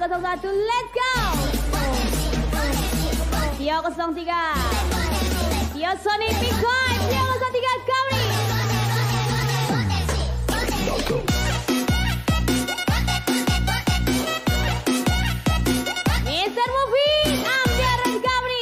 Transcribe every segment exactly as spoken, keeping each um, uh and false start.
nol satu, let's go. Tio nol tiga, Tio Sony Bitcoin, Tio nol tiga Kauri. mister Movie, Amir dan Kauri.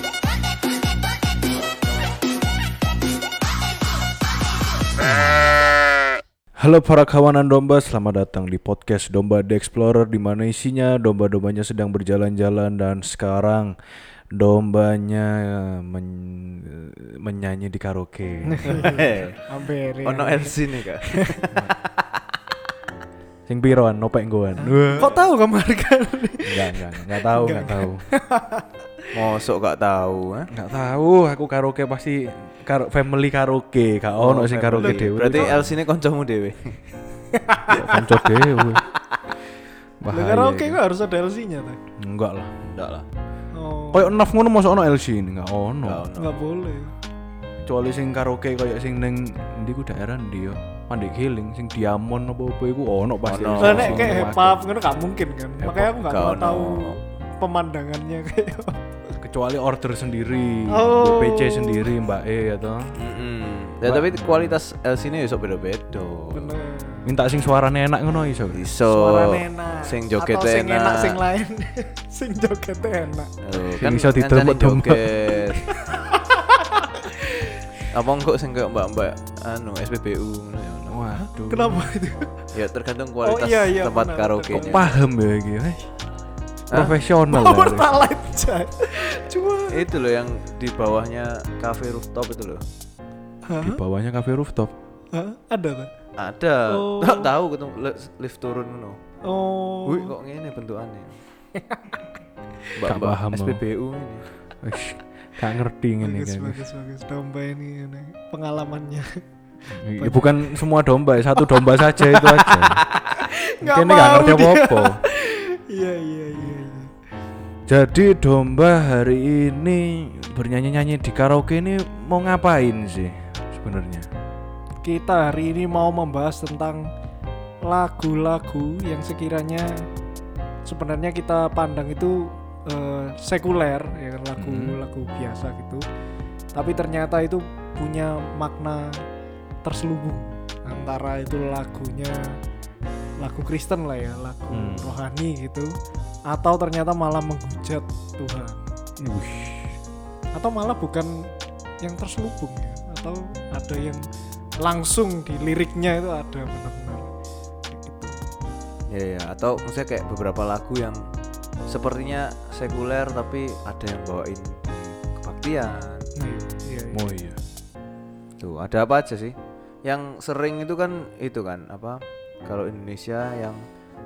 Halo para kawanan domba, selamat datang di podcast Domba The Explorer, di mana isinya domba-dombanya sedang berjalan-jalan dan sekarang dombanya men- menyanyi di karaoke. Hampir. Ono L C nih kak. Sing piroan, nopek goan. Kok tahu kamar kan? Enggak, enggak, enggak tahu, enggak tahu. Mosok gak tahu, eh? Enggak tahu, aku karaoke pasti karo family karaoke, gak ono sing karaoke dhewe. Berarti L C ini koncomu dhewe. kanca dhewe. Lah karaoke kok harus ada L C-nya tuh. Enggak lah. Enggak lah. Oh. Koyo naf ngono mosok ono L C ini, enggak ono. Enggak ono. Enggak boleh. Kecuali sing karaoke koyo sing ning ndi ku daerah ndi yo. Pandai Giling sing Diamond apa-apa iku ono pasti. Ono. Lah nek kayak hip-hop ngono gak mungkin kan. Hip-hop Makanya aku enggak gak mau ono. tahu pemandangannya kayak. Kecuali order sendiri, Oh. B P C sendiri, Mbak E atau Mm-mm. Ya tapi kualitas L C ini iso beda-beda. Bener. minta sing suarane enak ngono iso. Iso. Suaranya enak. Sing joget Atau sing enak enak. sing lain. Sing joget enak. Oh, Sing iso didemut-demut. joget. Apa enggak sing kayak mbak-mbak anu S P B U ngono ya. ono. Waduh. Kenapa itu? Ya tergantung kualitas Oh, iya, iya, tempat benar, karaoke-nya. Paham ya iki. eh. Hah? Profesional. Oh, ya. pertalite coy. Cuma Itu loh yang di bawahnya cafe rooftop itu loh. Di bawahnya cafe rooftop. Hah? Ada tuh. Ada. Oh. Tak tahu ketemu li- lift turun ngono. Oh. Wih kok ngene bentukannya. Gak paham, S P B U ini. Wis, gak ngerti ngene bagus, kan. bagus, bagus. Domba ini, ini pengalamannya. Ya, bukan semua domba, satu domba saja itu aja. Nggak Kayaknya gak mau ngerti dia. apa-apa. Iya, iya, iya, iya. Jadi domba hari ini bernyanyi-nyanyi di karaoke ini mau ngapain sih sebenarnya? Kita hari ini mau membahas tentang lagu-lagu yang sekiranya sebenarnya kita pandang itu eh, sekuler, ya kan, lagu-lagu biasa gitu. Tapi ternyata itu punya makna terselubung antara itu lagunya lagu Kristen lah ya, lagu Hmm. rohani gitu, atau ternyata malah menghujat Tuhan. Wih, Atau malah bukan yang terselubung ya, atau ada yang langsung di liriknya itu ada benar-benar kayak gitu. Ya ya, atau maksudnya kayak beberapa lagu yang sepertinya sekuler tapi ada yang bawain di kebaktian. Nah, iya, iya. oh iya. Tuh, ada apa aja sih? Yang sering itu kan itu kan apa? Kalau Indonesia yang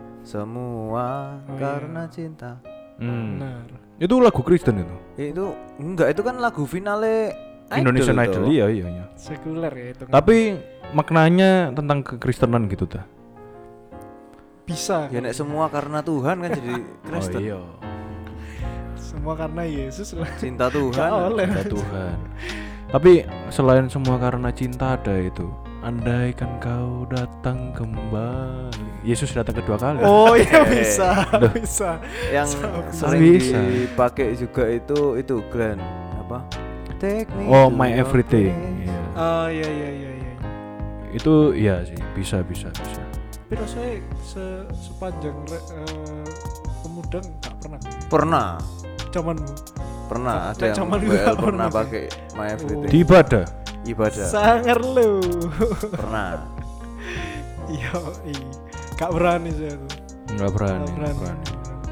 semua Oh, karena iya. cinta. Hmm. Benar. Itu lagu Kristen itu. Itu enggak, itu kan lagu finale Indonesian Idol Idol, tuh. iya iya iya. Sekuler ya itu. Tapi maknanya tentang kekristenan gitu ta. bisa. Ya nek semua karena Tuhan kan jadi Kristen. Oh iya. Semua karena Yesus lah. Cinta Tuhan. Gak oleh. Cinta Tuhan. Tapi selain semua karena cinta ada itu. Andaikan kau datang kembali. Yesus datang kedua kali. Oh iya Eh. bisa, Duh. bisa. Yang Bisa. sering Bisa. dipakai juga itu itu Glenn apa? Take me Oh, to My your Everything. place. Iya. Oh iya iya iya iya. Itu iya sih, bisa bisa bisa. Tapi rasanya se sepanjang re, eh, kemudian nggak pernah. Pernah, Zamanmu. pernah Nek ada yang zaman W dulu L nggak pernah pernah. pakai My Everything. Di ibadah. Ibadah. Sangar lu. Pernah. Iya, iya. Gak berani saya tuh. Enggak berani. Gak Enggak berani.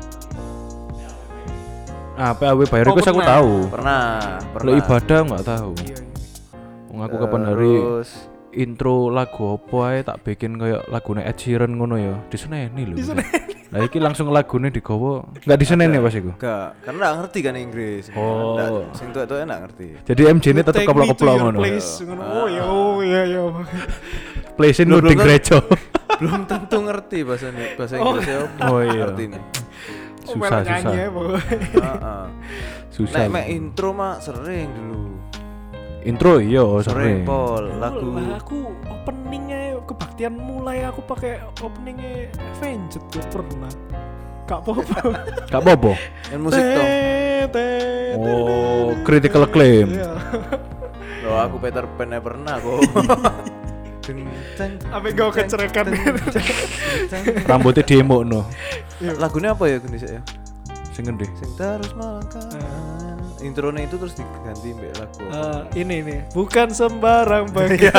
berani. Ah, P A W bayar Oh, request aku pernah. tahu. Pernah, pernah. Kalau ibadah enggak tahu. Iya, iya. Wong aku kapan hari Terus intro lagu apa ae tak bikin kayak lagune Ed Sheeran ngono ya. Diseneni lho. Diseneni. Lah iki langsung lagune digawa. Enggak diseneni pas iku. enggak, karena enggak ngerti kan Inggris. Oh. Nggak, sing tuwek-tuwek enggak ngerti. Jadi M J ini tetep Take me to keplok-keplok your ngono. place, ngono. Oh iya, oh iya iya. Place in Loh, loading belum kan- gereja. Belum tentu ngerti bahasa bahasa Oh. Inggrisnya apa. Oh, iya. Ngerti nih. Oh, Susah malah susah. nyanyi ya pokoknya. Heeh. Susah. Nek mek intro mah sering dulu. Intro iya Sering sering. pol lagu. Lah aku openingnya kebaktian mulai aku pakai openingnya Avenged tuh pernah. Gak apa-apa. Gak apa-apa. Yang musik toh. Oh, critical acclaim. Iya. Loh aku Peter Pan aja pernah kok. Apa gak kecerekan? Rambutnya demo no. Lagunya apa ya Indonesia ya? Sing ngendi? Sing terus melangkah. Intronya itu terus diganti mbak lagu. Uh, ini nih, bukan sembarang bagian.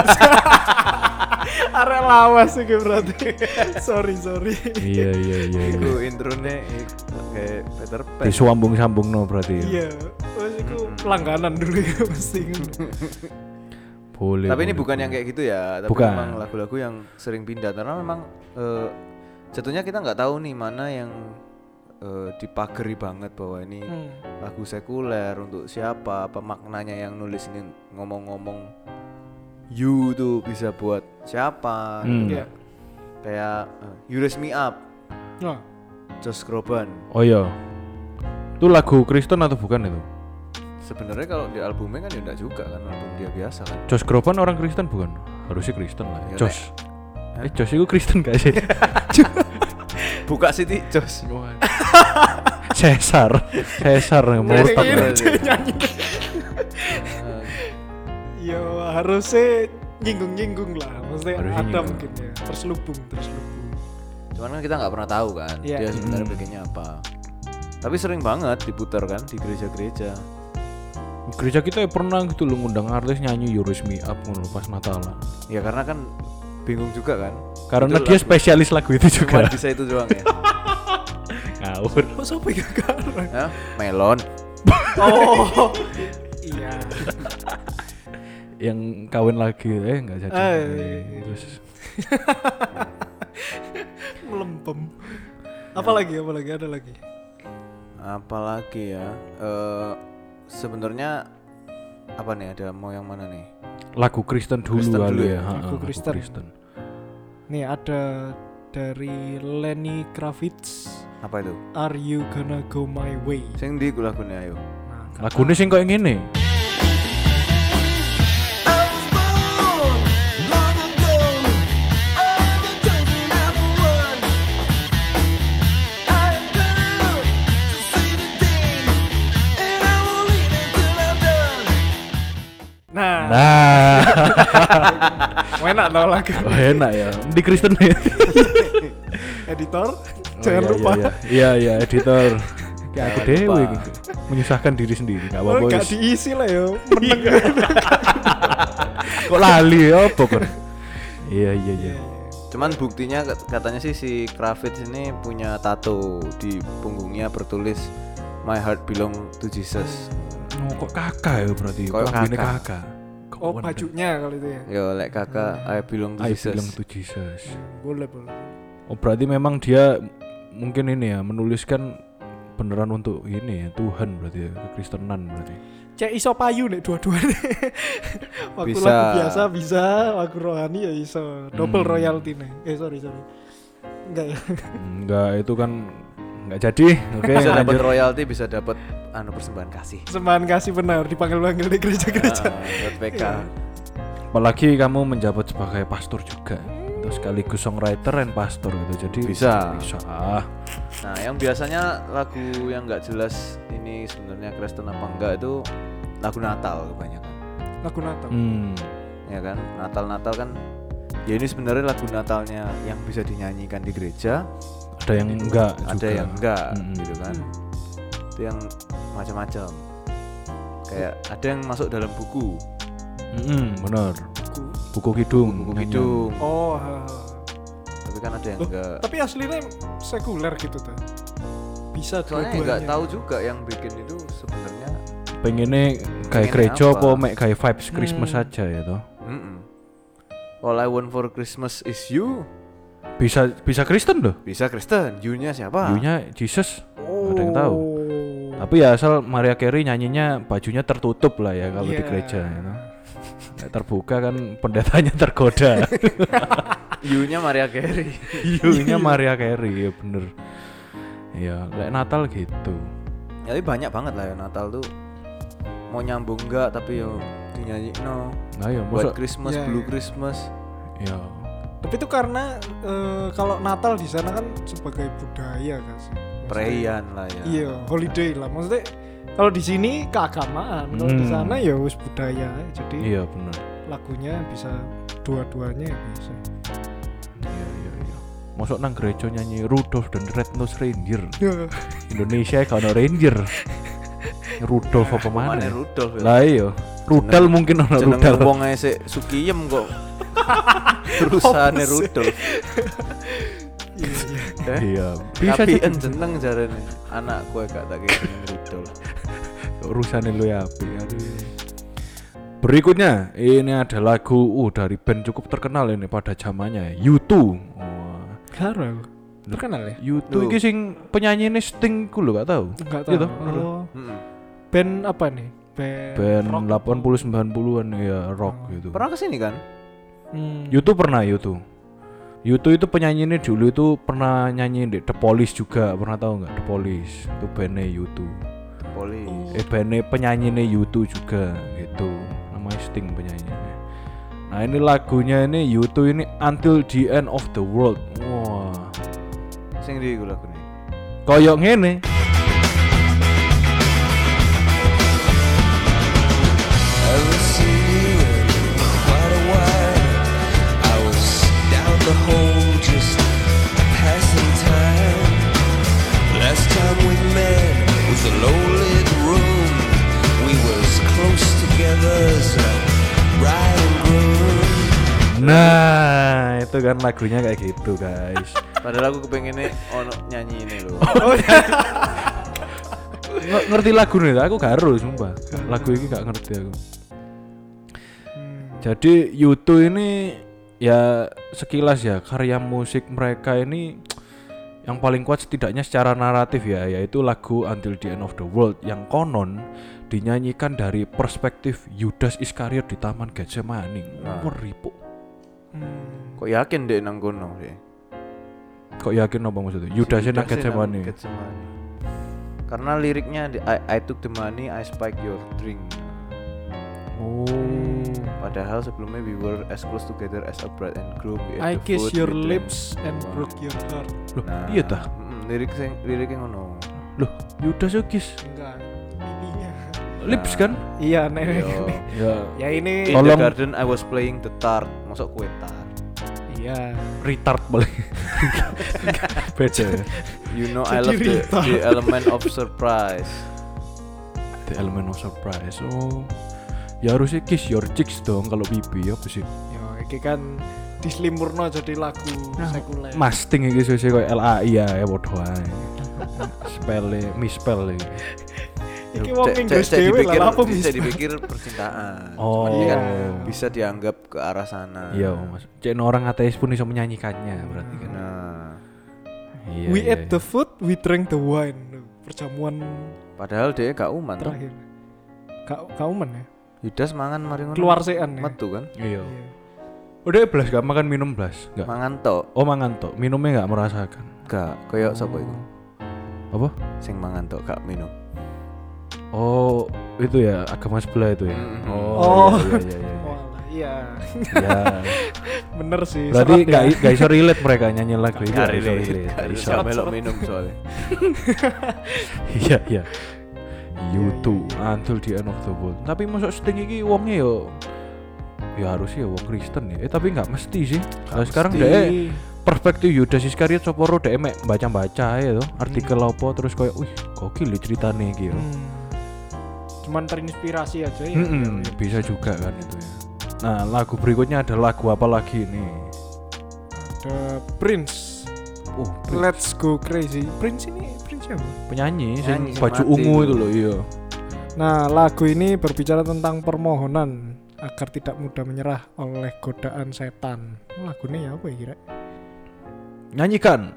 Arek lawas iki berarti. sorry sorry. Iya iya iya. Itu intronya kayak Peter Pan. Disambung-sambung no berarti. Iya, wes iku langganan dulu ya mesti. Boleh. Tapi ini boleh, bukan boleh. yang kayak gitu ya, tapi Bukan. memang lagu-lagu yang sering pindah karena memang uh, jatuhnya kita nggak tahu nih mana yang uh, dipagari banget bahwa ini Hmm. lagu sekuler untuk siapa, apa maknanya yang nulis ini ngomong-ngomong you tuh bisa buat siapa Hmm. gitu. Iya. Kayak uh, You Raise Me Up, Nah, Josh Groban. Oh iya. Itu lagu Kristen atau bukan itu? Sebenarnya kalau di albumnya kan ya enggak juga kan, album dia biasa kan. Josh Groban orang Kristen bukan? Harusnya Kristen lah. Ya, Josh. Hah? Eh Josh itu Kristen gak sih? Buka Siti Josh. Cesar. Cesar yang murtad. ini Iya. dia nyanyi. Uh, Yo harusnya nyinggung-nyinggung lah, maksudnya Harusnya ada nyinggung. mungkin ya, terselubung terselubung. Cuman kan kita nggak pernah tahu kan Iya. dia sebenarnya Hmm. bikinnya apa. Tapi sering banget diputar kan di gereja-gereja. Gereja kita ya pernah gitu loh ngundang artis nyanyi You Raise Me Up ngono pas Natalan. Ya karena kan bingung juga kan. Karena Itu dia lagu- spesialis lagu itu Cuma juga. bisa itu doang ya. Ngawur. Kok sampai gak karang? Ya, melon. Oh, iya. Yang kawin lagi eh enggak jadi. Eh. Terus Melempem. Apalagi, apalagi ada lagi. Apalagi ya. Eh sebenarnya apa nih, ada mau yang mana nih? lagu Kristen dulu Kristen kali dulu ya. ya. Ha, Lagu lagu Kristen. Nih ada dari Lenny Kravitz, Apa itu? Are You Gonna Go My Way? Sing di lagunya ayo. Nah, Lagune sing koyo ngene. nah, Nah, enak tau lagu. oh, enak ya. Di Kristen ya. Editor, Oh, jangan iya, lupa. Iya, iya, iya, editor. Kayak aku Jangan dewe lupa. gitu. Menyusahkan diri sendiri, enggak Oh, apa-apa. gak wis. diisi lah ya, meneng. Kok lali apa kan? Iya, iya, iya. Cuman buktinya kat- katanya sih si Kravitz ini punya tato di punggungnya bertulis My Heart Belong to Jesus. Oh, kok kakak ya berarti? Kok Kambingnya kakak? kakak. Kok Oh, wonder. bajunya kalau itu ya. Yo lek kakak I belong to I Jesus. belong to Jesus. Boleh, boleh. Oh, berarti memang dia mungkin ini ya menuliskan beneran untuk ini ya Tuhan berarti ya, kekristenan berarti. Cek iso payu nih dua-duanya. Waktu Bisa. lagu biasa bisa, waktu rohani ya iso. Double Hmm. royalty nih. Eh sorry sorry. Enggak ya. Enggak, itu kan enggak jadi. Oke, Bisa dapat lanjut. royalty, bisa dapat anu persembahan kasih. Sembahan kasih benar dipanggil-panggil di gereja-gereja. Ah, buat P K. Iya. Apalagi kamu menjabat sebagai pastor juga. Terus sekaligus songwriter dan pastor gitu. Jadi Bisa. Bisa. Ah. Nah, yang biasanya lagu yang nggak jelas ini sebenarnya Kristen apa enggak itu lagu Natal kebanyakan. Lagu Natal. Hmm. Ya kan? Natal-Natal kan ya ini sebenarnya lagu Natalnya yang bisa dinyanyikan di gereja, Ada yang enggak juga. ada yang enggak Mm-mm. gitu kan. Hmm. Itu yang macam-macam. Kayak ada yang masuk dalam buku, Mm-mm, benar. Buku. Buku kidung. buku nyanyian. kidung. Oh, ha, ha. Tapi kan ada yang Loh, enggak. tapi aslinya sekuler gitu tuh. Bisa Soalnya dua-duanya. enggak tahu juga yang bikin itu sebenarnya. Pengennya kayak Pengennya gereja apa? apa mek kayak vibes Christmas Hmm. aja ya toh. Mm-mm. All I want for Christmas is you. Bisa bisa Kristen loh. Bisa Kristen, you-nya siapa? View-nya Jesus. Oh. Ada yang tahu. Tapi ya asal Maria Carey nyanyinya bajunya tertutup lah ya kalau di Iya. gereja ya toh. Nek terbuka kan pendetanya tergoda. You-nya Maria Carey. View-nya Maria Carey ya bener. Ya, kayak Natal gitu. Ya, tapi banyak banget lah ya Natal tuh. Mau nyambung enggak tapi yo dinyanyi no. Nah ya Buat masa Christmas, Iya, Blue iya. Christmas. ya Tapi itu karena eh, kalau Natal di sana kan sebagai budaya kan sih. Maksudnya- Perayaan lah ya. Iya, holiday lah. Maksudnya kalau di sini keagamaan, kalau di Hmm. sana ya wis budaya. Jadi Iya benar. lagunya bisa dua-duanya ya bisa. Iya iya iya. Masuk nang gereja nyanyi Rudolph dan Red-Nosed Reindeer. Indonesia gak ono reindeer. Rudolph apa mana? Mana Rudolf ya? Lah iya. Rudal mungkin ono Jeneng Rudal. wong ae sik Sukiyem kok. Terusane Rudolf. Iya, iya. Eh? Iya. Bisa Tapi jadi. en jeneng jarene. Anakku gak tak kira jeneng Rudolf. Urusannya lu ya api. Aduh. Berikutnya ini ada lagu uh dari band cukup terkenal ini pada zamannya U two. Wah. Karo. Terkenal ya? U two Loh. iki sing penyanyi ini Sting ku lho gak tahu. Enggak Iya tahu. toh, bener. Oh, Heeh. band apa nih? Band, Band rock. delapan puluh sembilan puluhan ya rock Oh. gitu. Pernah kesini kan? Hmm. U two pernah U two. U two itu penyanyi ini dulu itu pernah nyanyi di The Police juga, pernah tahu nggak The Police? Itu bandnya U two. Polis. Eh bandnya penyanyi ini U two juga gitu. Namanya Sting penyanyinya. Nah ini lagunya ini U two ini Until the End of the World. Wah, Sing ndi iku lagune? koyok ngene. Haven't seen you in quite a while. I was down the hole just passing time. Last time we met was a low-lit room. We was close together as a bride and groom. Nah itu kan lagunya kayak gitu guys. Padahal aku kepengennya ono nyanyi ini loh. Nge- ngerti lagu nih, aku gak harus sumpah. Lagu ini gak ngerti aku. Hmm. Jadi U two ini ya sekilas ya karya musik mereka ini yang paling kuat setidaknya secara naratif ya, yaitu lagu Until the End of the World yang konon dinyanyikan dari perspektif Yudas Iskariot di Taman Getsemani. Nah. Ngeri, Po. Hmm. Kok yakin deh nang kono sih? Kok yakin apa maksudnya? Yudasnya nang Getsemani. Getsemani. Karena liriknya di, I, I took the money, I spiked your drink. Oh. Padahal sebelumnya we were as close together as a bride and groom. We I ate the kiss food, your we drank. lips and broke your heart. Loh, Nah, iya tah? mm, lirik sing liriknya ngono. Loh, Yudas yo kiss Enggak. Ininya. lips kan? Iya, nek. Yo. Ya, Ya ini In Tolong. the garden I was playing the tart. Masuk kue tart. iya. retard boleh. Beda. ya. You know I Jadi love the, retard. the element of surprise. The element of surprise. Oh. Ya harusnya kiss your cheeks dong kalau pipi apa sih? Ya iki kan dislimurno jadi lagu sekuler. Masting iki sih koyo L A I ya ya padha ae. Spell mispell iki. Iki wong Cek- Inggris cek- cek dhewe dipikir- lah apa bisa bisa. dipikir percintaan. Oh. Cuman ini kan Iya. bisa dianggap ke arah sana. Iya, Mas. Cek orang ateis pun bisa menyanyikannya berarti kan. Nah, Iya. We iya, ate iya. the food, we drank the wine. Perjamuan padahal dia gak uman tuh. terakhir. Kak kaumen ya. Yudas mangan mari ngono. Keluar sean ya. metu kan. Iya. Iya. Udah belas gak makan minum belas? Enggak. Mangan tok. Oh, mangan tok. Minumnya enggak merasakan. Gak koyo sapa iku? Apa? Sing mangan tok gak minum. Oh, itu ya agama sebelah itu ya. Mhm. Oh, Oh. iya iya iya. Walah, iya. Iya. Bener sih. Berarti serat ya. enggak enggak iso relate mereka nyanyi lagu itu. Gak nggak iso relate. relate, nggak Harus iso. gak melok minum soalnya. Iya iya. You too until the end of the world. Tapi masuk Sting iki wongnya yo ya harusnya wong Kristen ya. Eh tapi enggak mesti sih. Nah, sekarang mesti. deh perspektif Yudas Iskariot sapa ro dhek mek baca-baca ya to, artikel apa terus koyo wih gokil ya ceritane iki yo. Hmm. Cuman terinspirasi aja ya. Mm-mm, bisa juga kan itu ya. Nah, lagu berikutnya ada lagu apa lagi nih? Ada Prince. Oh, Let's Go Crazy. Prince ini Prince siapa? penyanyi Penyanyi sing sing baju mati ungu itu. itu loh, iya. Nah, lagu ini berbicara tentang permohonan agar tidak mudah menyerah oleh godaan setan. Lagunya ya apa ya kira? Nyanyikan.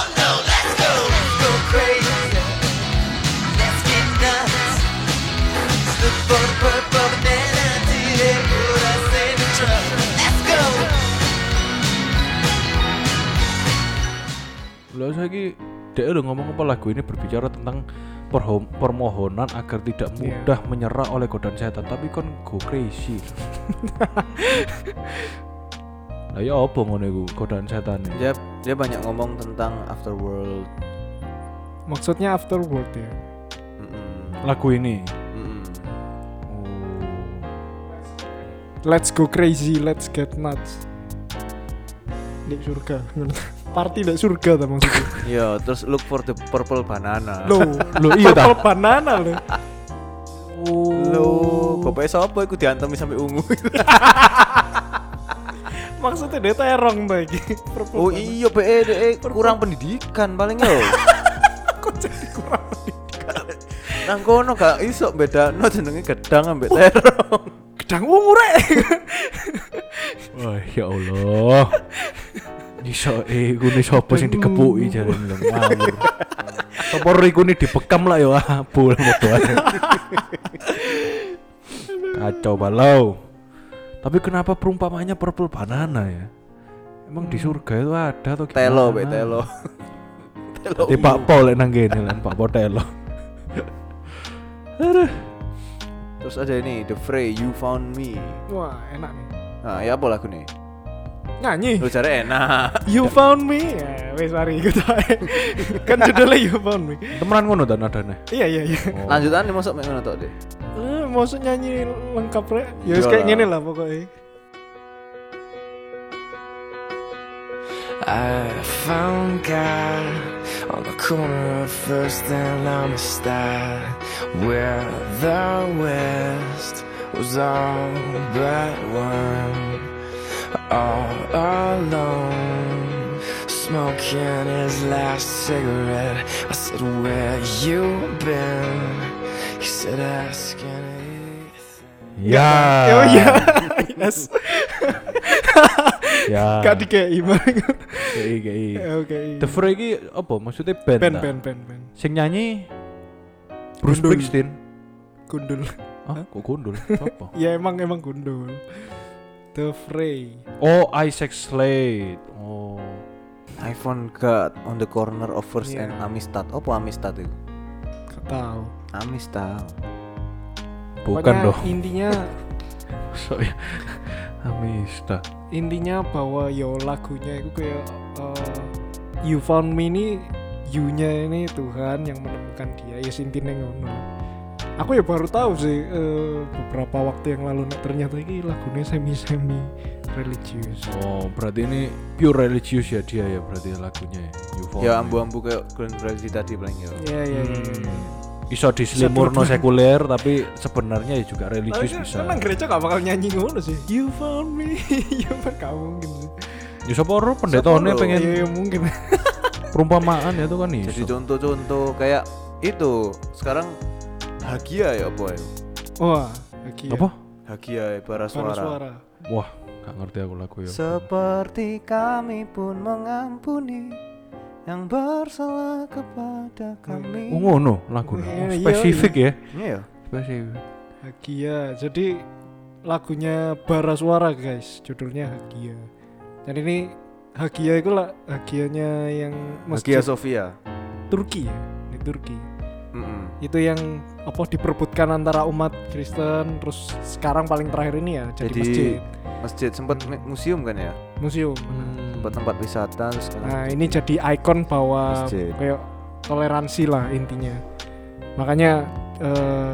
Go crazy. Let's get nuts. Look for the purple banana today. Put us in the truck. Let's go. Lah saiki dia udah ngomong apa lagu ini berbicara tentang perho- permohonan agar tidak mudah menyerah oleh godaan setan, tapi kan go crazy. Lah ya apa ngono iku godaan setan. Dia dia banyak ngomong tentang afterworld. Maksudnya afterworld ya. Mm-mm. Lagu ini. Mm-mm. Oh. Let's go crazy, let's get nuts. Di surga. Party di surga ta maksudnya. Iya, terus look for the purple banana. Loh, Loh iya ta. purple banana loh. Loh, bapake sapa iku diantemi sampai ungu. Maksudnya dia terong ta iki. Purple Oh banana. iya, be de kurang pendidikan paling yo. Kok jadi kurang pendidikan? Nang kono gak iso bedano jenenge gedang ambek terong. Gedang ungu rek. Wah, ya Allah. Iso eh kune sapa sing dikepuki jarene lho ngawur. Sapa iku ni dibekam lah ya abul modoane. Kacau balau. Tapi kenapa perumpamannya purple banana ya? Emang di surga itu ada atau gimana? Telo be telo. Telo. Di Pak Pol lek nang kene lan Pak Potelo. Aduh. Terus ada ini The Fray You Found Me. Wah, enak nih. Nah, ya apa lagu nih? Nyanyi. Lu cari enak. You found me. Ya, wes mari ikut ae. Kan judulnya You found me. Temenan ngono ta nadane. Iya iya iya. Oh. Lanjutan nih masuk mek ngono tok deh. Eh, maksud nyanyi lengkap rek. Ya wis Iyalah. kayak gini lah pokoknya. I found God on the corner of First and Amistad, where the West was all but one, all alone, smoking his last cigarette. I said, where you been? He said, asking Ya. Oh iya. Yes. Ya. Gak dikei bareng. Kei kei. Oke. The Fray iki apa maksudnya band? Pen ta? pen pen pen. Sing nyanyi Bruce Gundul. Springsteen. Gundul. Ah, kok gundul? Siapa? Ya emang emang gundul. The Fray. Oh, Isaac Slade. Oh. I found God on the corner of First Iya. and Amistad. Apa Amistad itu? Gak tahu. Amistad. Bukan Pokoknya dong. Intinya So ya. Amista. intinya bahwa yo lagunya itu kayak uh, You Found Me ini you-nya ini Tuhan yang menemukan dia. Ya intinya ngono. Aku ya baru tahu sih uh, beberapa waktu yang lalu nek ternyata ini lagunya semi-semi religius. Oh, berarti ini pure religious ya dia ya berarti lagunya ya. You Found Ya Me. ambu-ambu kayak Glenn Fredly tadi paling ya. Iya iya iya. Iso dislimurno sekuler tapi sebenarnya ya juga religius Tapi bisa. kan nang gereja gak bakal nyanyi ngono sih. You found me. Ya gak mungkin sih. Ya sapa ora pendetone Sapa, pengen Iya ya, mungkin. perumpamaan ya itu kan iso. Jadi contoh-contoh kayak itu sekarang Hagia ya apa ya? Wah, lagi ya. Apa? Hagia ya bara Suara. suara. suara. Wah, gak ngerti aku lagu ya. Seperti kami pun mengampuni yang bersalah kepada kami. Oh ngono lagune. Iya, Oh, iya, spesifik ya. Iya. Spesifik. Hagia. Jadi lagunya Bara Suara guys, judulnya Hagia. Dan ini Hagia itu lah Hagianya yang Hagia masjid Sophia. Turki ya, di Turki. Mm-mm. Itu yang apa diperebutkan antara umat Kristen, terus sekarang paling terakhir ini ya jadi, Jadi masjid, Masjid sempat me- museum kan ya? museum. Tempat tempat wisata terus sekarang. Nah ini jadi ikon bahwa Masjid. kayak toleransi lah intinya. Makanya eh,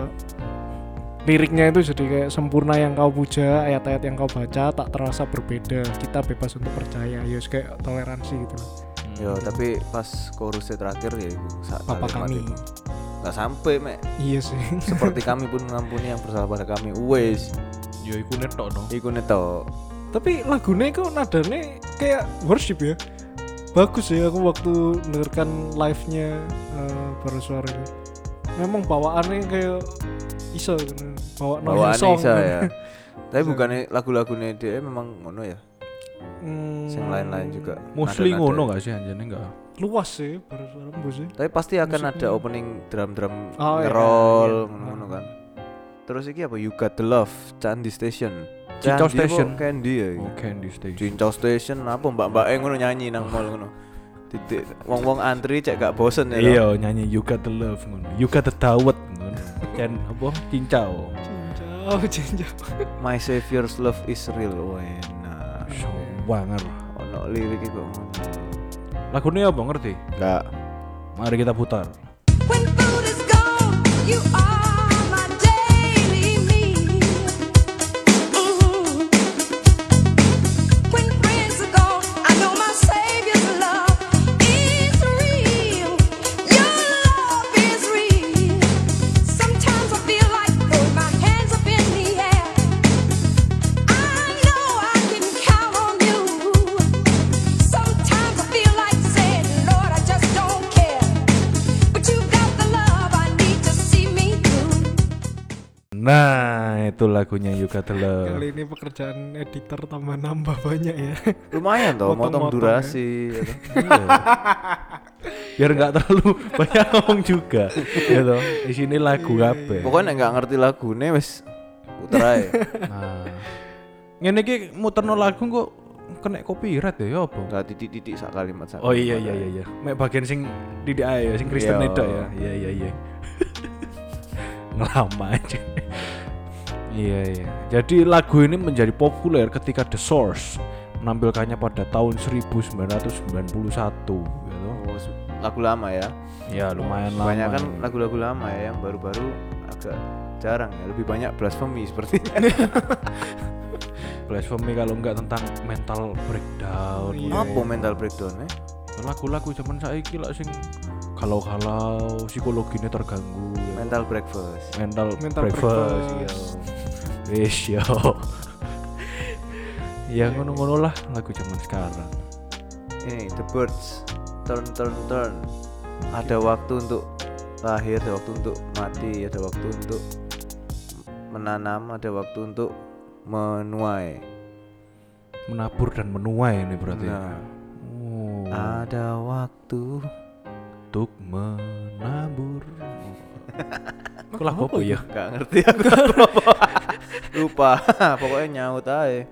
liriknya itu jadi kayak sempurna yang kau puja, ayat-ayat yang kau baca tak terasa berbeda. Kita bebas untuk percaya, ya kayak toleransi gitu loh. Yo, tapi pas chorusnya terakhir ya ibu saat Papa kami. nggak sampai mek. Iya sih. Seperti kami pun mengampuni yang bersalah pada kami. Wes, Ya iku netok no. iku neto. Tapi lagunya kok nadanya kayak worship ya. Bagus ya aku waktu dengarkan live-nya uh, Bara Suara ini. Memang bawaannya kayak iso kan. Bawa Bawaan song. Isa ya. Tapi Bisa. bukannya lagu-lagunya dia memang ngono ya. Hmm, Yang lain-lain juga. Mostly Nada-nada. ngono gak sih anjane enggak? Luas sih Bara Suara mbok sih. Tapi pasti akan Musiknya. ada opening drum-drum Oh, iya, ngerol iya. ngono-ngono kan. Terus iki apa? You Got The Love, Candi Station. Cincau Candi apa? Station. Candy ya. Oh, Candy Station. Cincau Station apa mbak-mbak ngono nyanyi nang mall ngono. Titik wong-wong antri cek gak bosen ya. Iya, nyanyi You Got The Love ngono. You Got The Dawet ngono. Ken apa? Cincau. Cincau, cincau. My Savior's Love Is Real. Wena. So Banger. Ono liriknya kok ngono. Lagunya apa ngerti? Enggak. Mari kita putar. When food is gone, you are my daily meal. Mm. When friends are gone, I know my Savior's love is real. Your love is real. Sometimes I feel like throwing my hands up in the air. I know I can count on you. Sometimes I feel like saying, Lord, I just don't care. But you got the love I need to see me through. Nah, itu lagunya You Got The Love. Kali ini pekerjaan editor tambah nambah banyak ya. Lumayan toh, motong Motong-motong durasi. Ya. toh. Iya. Biar nggak terlalu banyak ngomong juga. Ya toh. Di sini lagu kabeh. Pokoknya nggak ngerti lagune wis puter ae. Nah. Ngene iki muterno lagu kok kena copyright ya, ya apa? Enggak titik-titik sak kalimat sak. Oh iya iya iya iya. Mek bagian sing didik ae ya, sing Kristen Iya. itu ya. Iya iya iya. Ngelama aja. Iya iya. Jadi lagu ini menjadi populer ketika The Source menampilkannya pada tahun seribu sembilan ratus sembilan puluh satu gitu. Oh, su- lagu lama ya. Ya lumayan lama. Banyak kan ya. lagu-lagu lama ya yang baru-baru agak jarang ya. Lebih banyak blasphemy seperti Blasphemy kalau enggak tentang mental breakdown. Iya. ngono. apa mental breakdown ya? Lagu-lagu zaman saiki lah sing kalau-kalau psikologinya terganggu. ya. Mental breakfast. mental, Mental breakfast, breakfast. iya. Wis yo. Ya ngono-ngono lah lagu zaman sekarang. Ini The Birds, turn turn turn. Ada waktu untuk lahir, ada waktu untuk mati, ada waktu untuk menanam, ada waktu untuk menuai. Menabur dan menuai ini berarti. Nah, Oh, ada waktu. untuk menabur. Kok lagu apa ya? Gak ngerti aku lagu apa. Lupa. Pokoknya nyaut aja.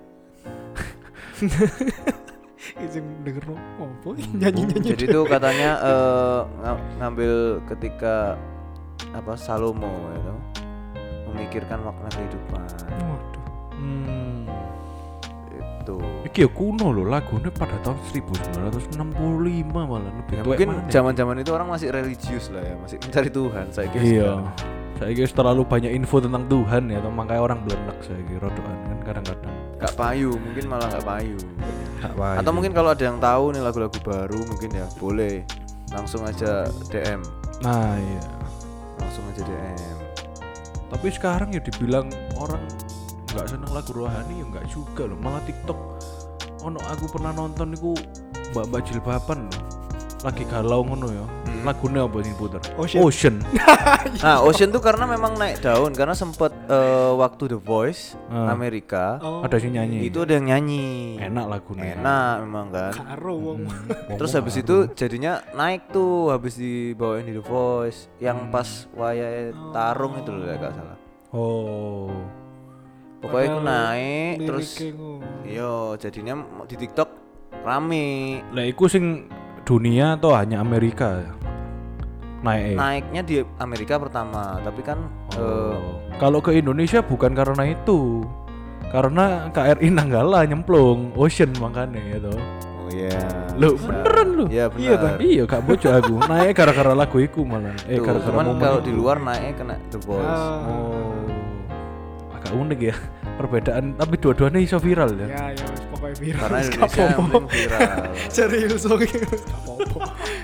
Izin denger apa Hmm, nyanyi-nyanyi. Jadi itu katanya eh, ng- ngambil ketika apa Salomo itu memikirkan makna kehidupan. Waduh. Hmm. Itu. Iki ya kuno loh lagunya pada tahun seribu sembilan ratus enam puluh lima malah lebih Ya, tuwek mungkin maneh. zaman-zaman itu orang masih religius lah ya, masih mencari Tuhan. Saya kira Iya. Saya kira terlalu banyak info tentang Tuhan ya, atau makanya orang belenek saya kira rodoan kan kadang-kadang. gak payu, mungkin malah gak payu. Gak paham. Atau mungkin kalau ada yang tahu nih lagu-lagu baru mungkin ya boleh langsung aja D M, Nah iya. langsung aja D M. Tapi sekarang ya dibilang orang nggak seneng lagu rohani ya nggak juga loh, malah TikTok ono aku pernah nonton iku mbak-mbak jilbaban loh lagi galau ngono ya. Hmm. Lagunya apa sih puter? Ocean. Ocean. Nah, Ocean tuh karena memang naik daun karena sempet eh, waktu The Voice Ah. Amerika Oh, Ada sih nyanyi. itu ada yang nyanyi. Enak lagunya. Enak memang kan. karo wong. Hmm. Terus Ngomong habis karo. itu jadinya naik tuh habis dibawain di The Voice yang Hmm. pas wayai tarung itu loh ya gak salah. Oh. Pokoknya itu Padahal naik terus liriknya ngono. iya jadinya di TikTok rame. Lah iku sing dunia atau hanya Amerika? Naik. Naiknya di Amerika pertama, tapi kan eh, Oh. Kalau ke Indonesia bukan karena itu. Karena K R I Nanggala nyemplung Ocean makanya gitu. oh iya. Loh, bisa. beneran lu? Iya Iya, benar. Iya, gak bocor aku. Naik gara-gara lagu iku malah. Eh, Tuh, gara-gara cuman momen kalau itu. di luar naik kena The Voice. Ah. Oh. Agak unik ya perbedaan, tapi dua-duanya iso viral ya. Ya ya wis pokoknya viral. Karena Wis Indonesia gak yang apa-apa. penting viral. Serius oke. Gak apa-apa.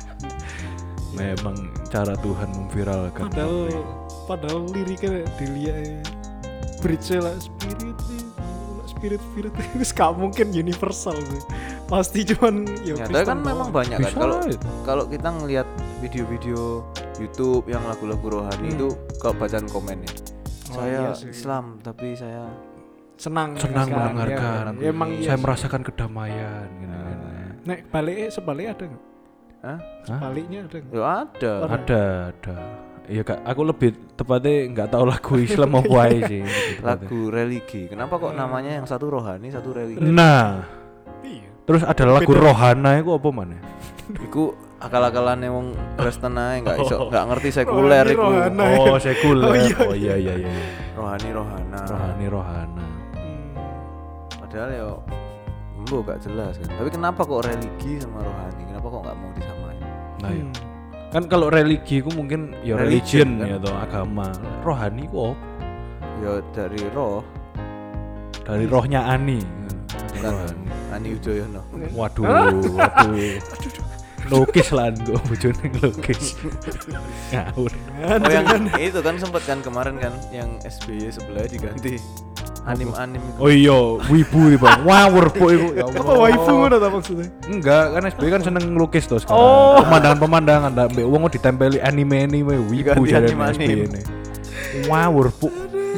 Memang cara Tuhan memviralkan. Padahal padahal liriknya dilihat bridge lah spirit spirit spirit itu gak mungkin universal sih. Pasti cuman ya Nyata Kristen kan doang. memang banyak kan Bisa kalau itu. kalau kita ngelihat video-video YouTube yang lagu-lagu rohani Hmm. itu kalau bacaan komennya. Oh, Saya iya sih. Islam tapi saya senang Senang kan, mendengarkan. ya, emang Saya iya sih. merasakan kedamaian gitu kan. Nek baliknya sebaliknya ada nggak? Hah? Sebaliknya ada nggak? Ya ada. Ada. Ada, ada. Iya kak, aku lebih tepatnya nggak tahu lagu Islam apa aja sih. lebih tepatnya. Lagu religi. Kenapa kok namanya yang satu rohani, satu religi? Nah, Iya. terus ada lagu Beda. Rohana itu apa mana? Iku akal-akalannya wong Kristen ae enggak iso enggak ngerti sekuler Rohani, iku. rohana. Oh, sekuler. Oh, iya, Oh iya iya iya. Rohani rohana. Rohani Rohana. Hmm. Padahal ya Embo gak jelas kan. Tapi kenapa kok religi sama rohani? Kenapa kok nggak mau disamain? Nah, ya. Hmm. Kan kalau religi ku mungkin ya Religion, religion, kan? ya atau agama. Rohani ku apa? Ya dari roh, Dari rohnya Ani. bukan Ani Udoyono. Waduh, waduh. Lukis lah gue bojone lukis. Ngawur. Oh yang itu kan sempet kan kemarin kan yang S B Y sebelah diganti anim-anim itu. Oh iya, wibu iki, Bang. Ngawur po iku. Ya Allah. Apa waifu ngono ta maksudnya? Enggak, kan S B Y kan seneng ngelukis tuh sekarang. Oh. Pemandangan-pemandangan ndak mbek wong ditempeli anime-anime wibu Diganti jare S anime-anime. B Y ini. Ngawur po.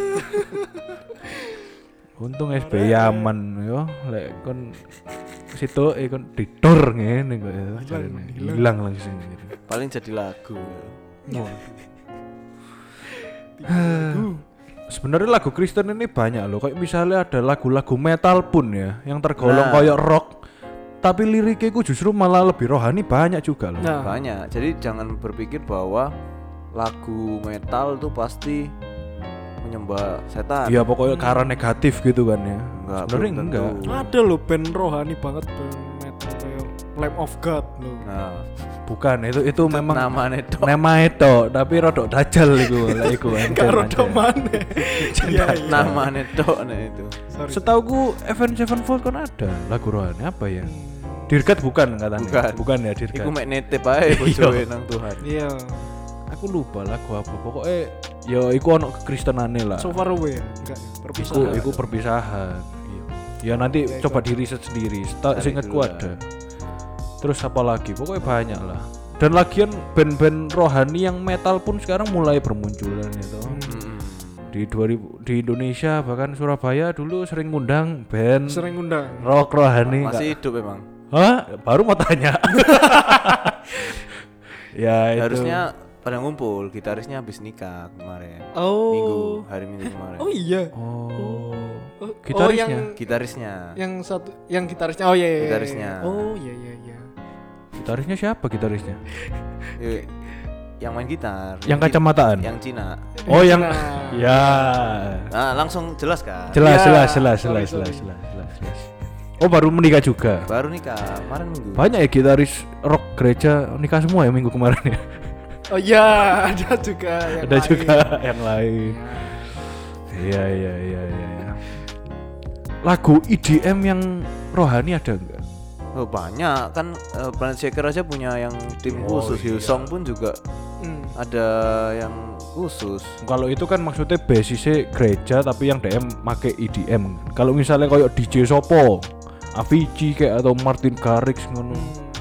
Untung S B Y aman yo, lek kon situ eh kon didor ngene kok ya. jarene. Hilang langsung gitu. Paling jadi lagu. Ya. Sebenarnya lagu Kristen ini banyak loh. Kayak misalnya ada lagu-lagu metal pun ya, yang tergolong Nah. kayak rock, tapi liriknya itu justru malah lebih rohani banyak juga loh. Nah, Banyak. Jadi jangan berpikir bahwa lagu metal tuh pasti menyembah setan. Iya pokoknya karena negatif gitu kan ya. Enggak, Sebenarnya belum enggak. tentu. ada loh band rohani banget band metal kayak Lamb of God loh. Nah, Bukan itu itu memang namanya itu. nama itu, tapi rodok dajal itu lah iku enten Karo aja. domane. Iya iya. Namanya itu nah itu. Sorry. Setauku Avenged Sevenfold kan ada lagu rohani apa ya? Dirgat bukan katanya. Bukan. Bukan ya Dirgat. Iku mek nitip ae bojoe nang Tuhan. Iya. Aku lupa lagu apa. Pokoknya ya iku ono kekristenane lah. So far away ya. Enggak. Iku, Perpisahan. iku perpisahan. Iya. Ya nanti Oke, coba coba. di riset sendiri. Seta- Cari Seingatku dulu lah. ada. Terus apa lagi? Pokoknya banyak lah. Dan lagian band-band rohani yang metal pun sekarang mulai bermunculan itu. Mm-mm. Di dua ribu di Indonesia bahkan Surabaya dulu sering ngundang band Sering undang. rock rohani. Masih nggak- hidup emang. Hah? Baru mau tanya. Ya itu. Harusnya pada ngumpul, gitarisnya habis nikah kemarin. Oh. Minggu, hari Minggu kemarin. Oh iya. Oh. Oh, Gitarisnya? oh, yang Gitarisnya. yang satu yang gitarisnya. Oh iya iya. iya. Gitarisnya. Oh iya iya iya. Gitarisnya siapa gitarisnya? Eh, yang main gitar. Yang Ci- kacamataan? Yang Cina. Oh yang Nah. ya. Nah, langsung jelas kan? Jelas, Ya, jelas, jelas, sorry, jelas, sorry. jelas, jelas, jelas, jelas. Oh baru menikah juga. Baru nikah kemarin Minggu. Banyak ya gitaris rock gereja nikah semua ya minggu kemarin ya. Oh iya, ada juga yang Ada lain. juga yang lain. Iya iya iya iya. iya. Lagu E D M yang rohani ada enggak? Oh, banyak kan eh, Planet Shaker aja punya yang tim Oh, khusus. iya. Hillsong pun juga Hmm. ada yang khusus. Kalau itu kan maksudnya basisnya gereja tapi yang D M make E D M. Kalau misalnya kayak D J Sopo, Avicii kayak atau Martin Garrix ngono.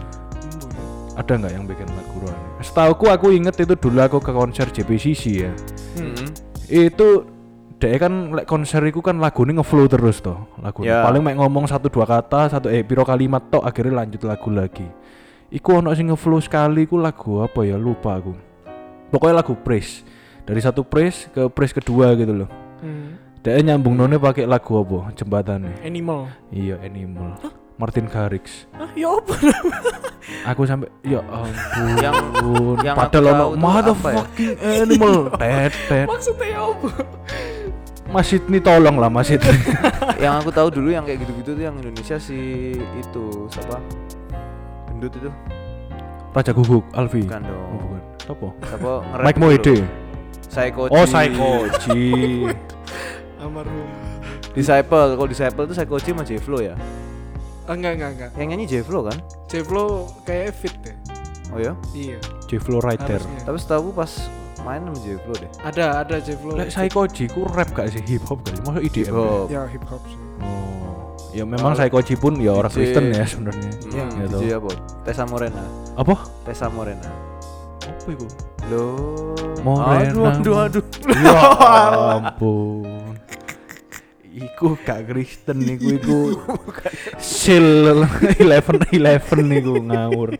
Ada nggak yang bikin lagu rohani? Setauku aku inget itu dulu aku ke konser J P C C ya. Mm-mm. Itu dia kan lek konser iku kan lagune ngeflow terus toh. Lagu Ya. paling mek ngomong satu dua kata, satu eh piro kalimat tok akhirnya lanjut lagu lagi. Iku ono sing ngeflow sekali iku lagu apa ya lupa aku. Pokoknya lagu praise. Dari satu praise ke praise kedua gitu loh. Hmm. Dia nyambung none pakai lagu apa? Jembatannya. Animal. Iya, Animal. Martin Garrix. Ah, ya apa? Aku sampai ya ampun. Yang- yang aku padahal tahu ono tuh motherfucking animal. Tet tet. Maksudnya ya apa? Mas Sidney tolong lah Mas Sidney. Yang aku tahu dulu yang kayak gitu-gitu tuh yang Indonesia si itu siapa? Gendut itu. Raja Guguk, Alfi. Bukan dong. Oh, bukan. Apa? Siapa nge-rap Mike itu Mohede. loh. Psychoji. Oh, Psychoji. Almarhum. Disciple. Kalau Disciple itu Psychoji sama J-Flow ya? Ah, enggak enggak enggak. Yang nyanyi J-Flow kan? J-Flow kayak fit deh. Oh ya? Iya. J-Flow Rider. Harusnya. Tapi setahu aku pas main sama J-Flow deh. Ada ada J-Flow. Lek Psychoji ku rap gak sih, hip hop gak sih? Masa E D M? Oh. Ya hip hop sih. Oh. Ya memang Oh. Psychoji pun ya orang D J. Kristen ya sebenarnya. Iya, Hmm, gitu. D J apa? Tessa Morena. Apa? Tessa Morena. Apa itu? Loh. Morena. Aduh, aduh, aduh. Ya ampun. Iku gak Kristen niku iku. Sil eleven eleven niku ngawur.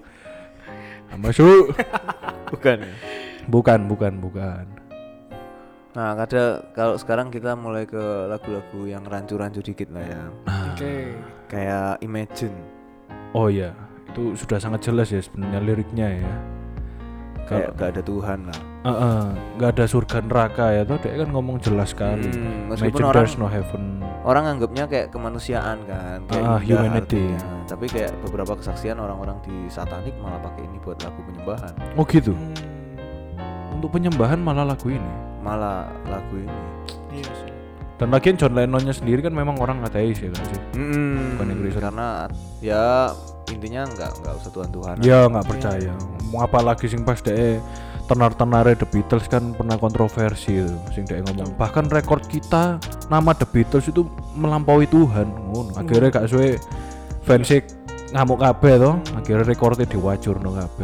Masuk. Bukan ya? Bukan, bukan, bukan. Nah, kadang kalau sekarang kita mulai ke lagu-lagu yang rancu-rancu dikit lah ya. Oke. Kayak Imagine. Oh iya, itu sudah sangat jelas ya sebenarnya liriknya ya. Kayak Kalau gak ada Tuhan lah. Heeh, nggak ada surga neraka ya tuh, dia kan ngomong jelas sekali. Hmm, meskipun Imagine orang there's no heaven. orang anggapnya kayak kemanusiaan kan, kayak Ah, indah humanity. artinya. Tapi kayak beberapa kesaksian orang-orang di satanik malah pakai ini buat lagu penyembahan. Oh gitu. Hmm, Untuk penyembahan malah lagu ini. Malah lagu ini. iya sih. Dan lagian John Lennonnya sendiri kan memang orang ateis ya kan sih. Hmm, Bukan yang Kristen. karena ya intinya nggak nggak usah Tuhan-Tuhan. Ya nggak percaya. Mau apalagi sing pas deh tenar-tenare The Beatles kan pernah kontroversi itu. Sing deh ngomong bahkan rekor kita nama The Beatles itu melampaui Tuhan. Ngono. Akhirnya gak suwe fans ngamuk kabeh to. Akhirnya rekornya diwajurno kabeh.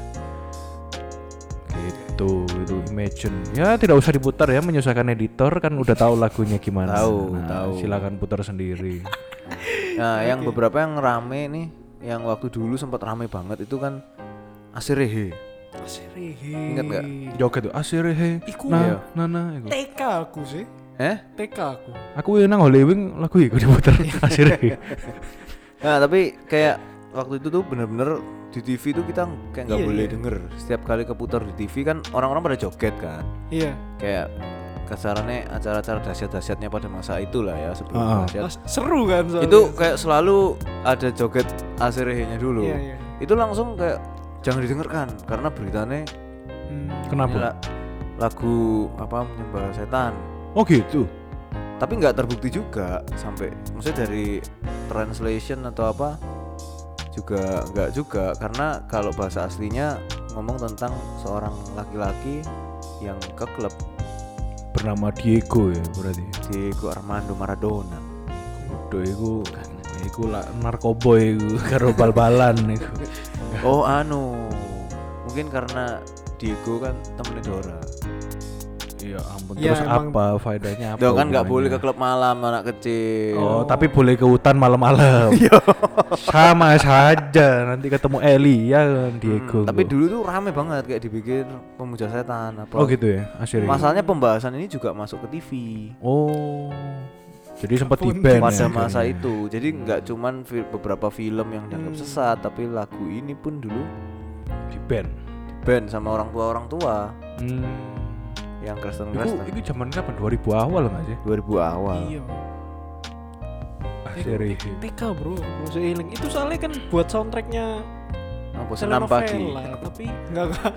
Gitu, itu Imagine. Ya tidak usah diputar ya, menyusahkan editor kan udah tahu lagunya gimana. Tahu, Nah, tahu. silakan putar sendiri. Nah, yang beberapa yang rame nih, yang waktu dulu sempat rame banget itu kan Asirehe. Asirehe. Ingat nggak? Joget tuh Asirehe. Iku Nah, ya. nah, nah, iku. T K aku sih. Eh? T K aku. Aku nang Hollywood lagu iku diputar Asirehe. Nah, tapi kayak waktu itu tuh bener-bener di T V tuh kita kayak nggak Iya, boleh iya. denger. Setiap kali keputar di T V kan orang-orang pada joget kan. Iya. Kayak kasarannya acara-acara dahsyat-dahsyatnya pada masa itulah ya sebelum Ah. dahsyat. Mas, seru kan soalnya. Itu kayak selalu ada joget Asirehe-nya dulu. Iya, iya. Itu langsung kayak jangan didengarkan karena beritanya Hmm. ini Kenapa? la- lagu apa menyembah setan. Oh gitu. Tapi nggak terbukti juga sampai maksudnya dari translation atau apa juga nggak juga karena kalau bahasa aslinya ngomong tentang seorang laki-laki yang ke klub Bernama Diego ya berarti. Diego Armando Maradona. Kudu iku iku lah narkoboy iku karo bal-balan iku. Oh anu mungkin karena Diego kan temennya Dora. Iya ampun. Ya, Terus emang- apa faedahnya apa? Tuh kan nggak boleh ke hubungannya? klub malam anak kecil. Oh, tapi boleh ke hutan malam-malam. Sama saja nanti ketemu Eli ya kan Diego. Hmm, tapi tuh. dulu tuh rame banget kayak dibikin pemuja setan apa. Oh gitu ya, Asirehe. Masalahnya pembahasan ini juga masuk ke T V. Oh. Jadi sempat di Ampun, ban Pada ya, masa akhirnya. itu, jadi nggak cuman fi- beberapa film yang dianggap Hmm. sesat, tapi lagu ini pun dulu di ban. band sama orang tua orang tua Hmm. yang Kristen Iku, Kristen iku zaman kapan? dua ribu awal nggak sih? dua ribu awal. Iya. Asirehe. T K bro, bro seiling. Itu soalnya kan buat soundtracknya Apa senam pagi? telenovela, tapi enggak enggak.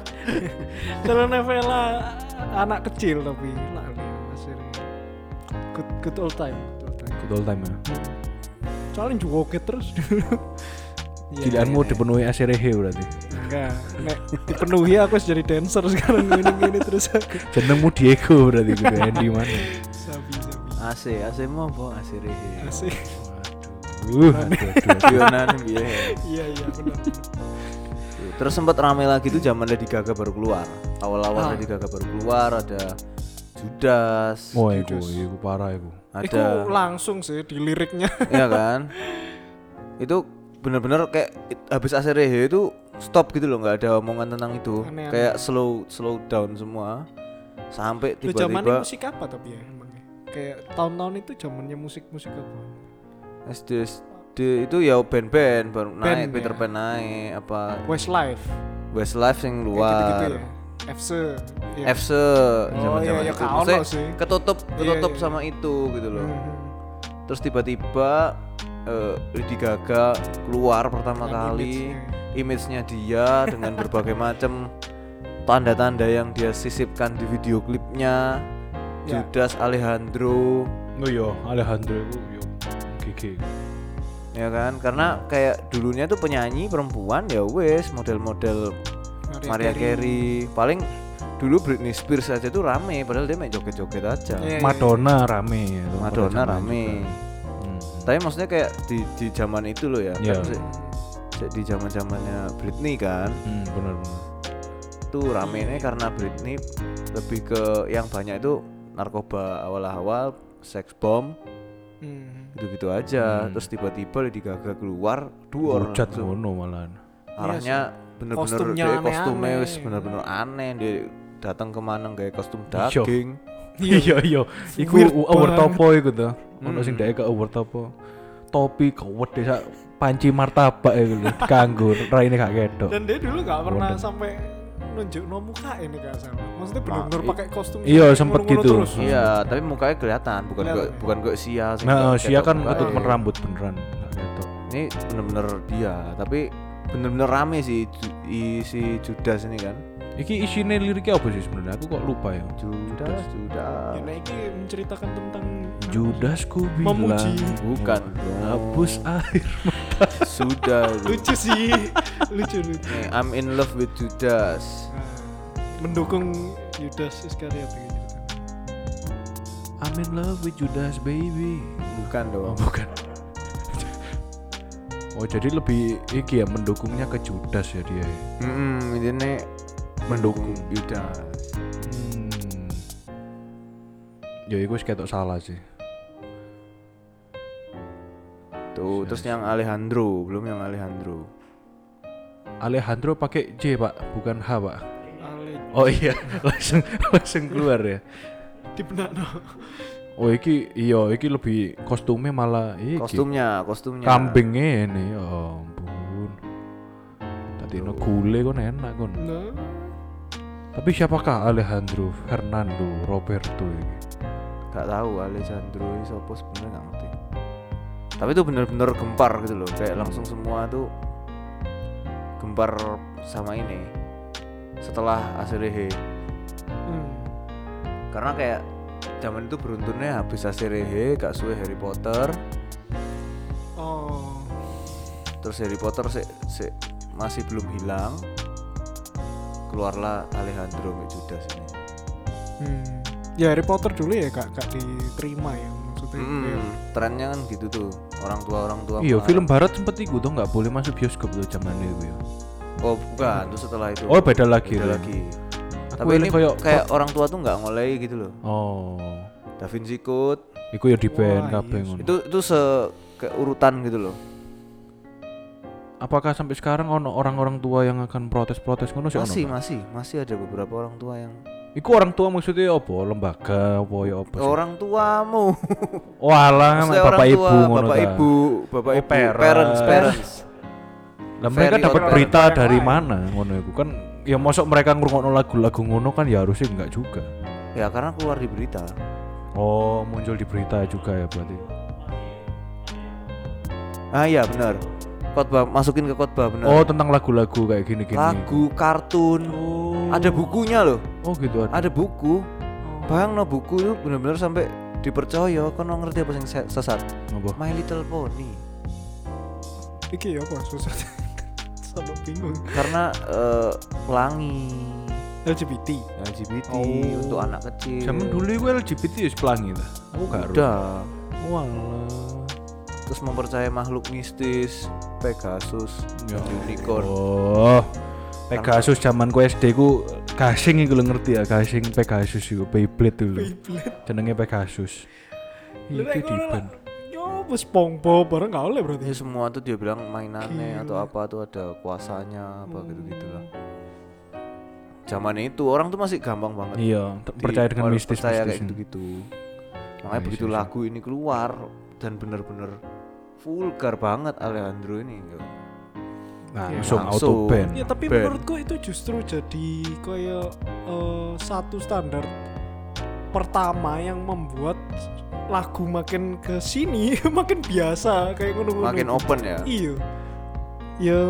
Telenovela anak kecil tapi lali Asirehe. Good good old time. Good old time. Good old time ya. Soalnya joget terus. Iya, Gilianmu iya. dipenuhi Asirehe berarti. Enggak, nek dipenuhi aku harus jadi dancer sekarang gini-gini terus aku. Jenengmu Diego berarti gitu Andy mana? Sabi sabi. A C, A C mau apa? A C Rehe. Asik. Waduh, aduh, aduh, aduh. Dionan biye. Iya iya benar. Terus sempat rame lagi tuh zaman Lady Gaga baru keluar. Awal-awal Ah. Lady Gaga baru keluar ada Judas, Oh iku, iku parah iku. Iku ada langsung sih di liriknya. ya kan? Itu bener-bener kayak it- habis Asirehe itu stop gitu loh, nggak ada omongan tentang itu. Aneh-aneh. Kayak slow slow down semua sampai Lu zamannya tiba-tiba musik apa tapi ya emangnya? Kayak tahun-tahun itu zamannya musik-musik apa? S D S D itu ya band-band baru naik, Band, Peter ya. Pan naik apa Westlife. Westlife yang Kayak luar. gitu-gitu ya. F C. Iya. F C Oh zaman-zaman iya ya itu. kau Maksudnya sih. ketutup Iya, ketutup iya. sama itu gitu loh. Mhm. Terus tiba-tiba eh, Lady Gaga keluar pertama Yang kali. image-nya. Image-nya dia dengan berbagai macam tanda-tanda yang dia sisipkan di video klipnya. Ya. Judas Alejandro, Oh yo, Alejandro iku yo gigi. ya kan? Karena kayak dulunya tuh penyanyi perempuan ya wes model-model Mariah Carey. Paling dulu Britney Spears aja tuh rame, padahal dia main joget-joget aja. Iya. Madonna rame ya. tuh, pada Madonna zaman rame. juga. Hmm. Tapi maksudnya kayak di di zaman itu loh ya. Iya. Kan se- se- di zaman-zamannya Britney kan. Hmm, benar-benar. Tuh ramenya karena Britney lebih ke yang banyak itu narkoba awal-awal, seks bom, Hmm. gitu-gitu aja. Hmm. Terus tiba-tiba Lady Gaga keluar, duor Hujat langsung. ngono malahan. Arahnya bener-bener Kostumnya dia kostumnya aneh-aneh. wis bener-bener aneh, dia datang kemana kayak kostum Iya. daging. Iya iya, iku Weird over banget. topo iku tuh. Ono sing Hmm. dhek ke over topo. Topi kawet desa panci martabak iku lho, kanggo raine gak ketok. Dan dia dulu gak pernah Wonder. sampai nunjukno muka ini gak salah. Maksudnya bener-bener pakai kostum. Iya, sampai sempet ngono-ngono gitu. terus. Iya, tapi mukanya kelihatan, bukan Kelihatan. kok bukan kok sia sih. Nah, Sia kan ketok ketutupan mukanya. rambut beneran. Nggak ketok. Ini bener-bener dia, tapi bener-bener rame sih Ju- i- si Judas ini kan. Iki isinya liriknya apa sih sebenarnya? Aku kok lupa ya. Judas, Judas. Ya, nah, ini menceritakan tentang Judas ku bilang Memuji. Bukan. hapus air. Sudah. lucu sih, lucu lucu. Nih, I'm in love with Judas. Nah, mendukung Yudas Iskariot gitu. I'm in love with Judas baby. Bukan Oh, dong. bukan. Oh, jadi lebih iki ya mendukungnya ke Judas ya dia. ya? Hmm, ini mendukung Judas. Hmm. Ya iku wis ketok salah sih. Tuh, terus yang Alejandro, belum yang Alejandro. Alejandro pakai J, Pak, bukan H, Pak. Ale Oh iya, langsung langsung keluar ya. di benakno. Oh iki iya iki lebih kostumnya malah iki. Kostumnya, kostumnya. Kambingnya ini, ya ampun. Tadi no gule kon enak kon. Nah, Tapi siapakah Alejandro Fernando Roberto ini? Gak tahu Alejandro ini siapa sebenarnya nggak ngerti. Tapi itu bener-bener gempar gitu loh, kayak langsung semua tuh gempar sama ini. Setelah Aserehe, hmm. karena kayak zaman itu beruntunnya habis Aserehe, gak suwe Harry Potter, Oh. terus Harry Potter se, se- masih belum hilang, keluarlah Alejandro sama Judas ini. Hmm. Ya Harry Potter dulu ya gak gak diterima ya maksudnya. kayak- Hmm, trennya kan gitu tuh, orang tua orang tua. Iya, melarang. film barat sempet iku tuh nggak boleh masuk bioskop tuh zaman itu ya. Oh bukan, terus setelah itu. Oh, beda lagi Beda tuh. lagi. Aku Tapi ini eling koyo- kayak orang tua tuh nggak ngolehi gitu loh. Oh, Da Vinci Code iku ya di band Wah, kabeh iya ngono. itu itu se kayak urutan gitu loh. Apakah sampai sekarang ono orang-orang tua yang akan protes-protes ngono sih ono? Masih nggak? masih masih ada beberapa orang tua yang Iku orang tua maksudnya apa? Lembaga apa ya apa sih? orang tuamu. Oh alah, Maksudnya bapak orang ibu tua, ngono bapak ta. ibu, bapak Oh, ibu, parents. parents, parents. Lah mereka Very dapat odd berita parent. dari Yang mana ngono iku kan? Ya mosok mereka ngrungokno lagu-lagu ngono kan ya harusnya enggak juga. Ya karena keluar di berita. Oh, muncul di berita juga ya berarti. Ah iya benar. Khotbah masukin ke khotbah benar. Oh, tentang lagu-lagu kayak gini-gini. Lagu, kartun. Oh. Ada bukunya loh. Oh gitu ada. Ada buku. Bayang no buku itu benar-benar sampai dipercaya kan ngerti apa yang sesat. Apa? My Little Pony. Iki ya apa susah. Sampai bingung. Karena eh, pelangi L G B T. L G B T Oh. untuk anak kecil. Zaman dulu iku L G B T wis pelangi ta. Aku gak ero. udah. Walah. Terus mempercayai makhluk mistis, Pegasus, Ya unicorn. Oh. Pegasus zaman ku S D ku gasing iku lho ngerti ya, gasing Pegasus iku Beyblade dulu. Beyblade. Jenenge Pegasus. Lu Iki nek di ngono lah. ban. Yo wis SpongeBob bareng gak oleh berarti. Ya semua tuh dia bilang mainannya Gila. atau apa tuh ada kuasanya apa gitu-gitu lah. Zaman itu orang tuh masih gampang banget. Iya, t- di- percaya dengan harus mistis percaya kayak mistis. gitu-gitu. Makanya Iya, begitu iya, iya. lagu ini keluar dan bener-bener vulgar banget Alejandro ini. Nah, Iya, langsung langsung. auto ban. Ya tapi Band. menurutku itu justru jadi kayak eh, satu standar pertama yang membuat lagu makin ke sini makin biasa kayak ngono-ngono. Makin open ya. Iya. Ya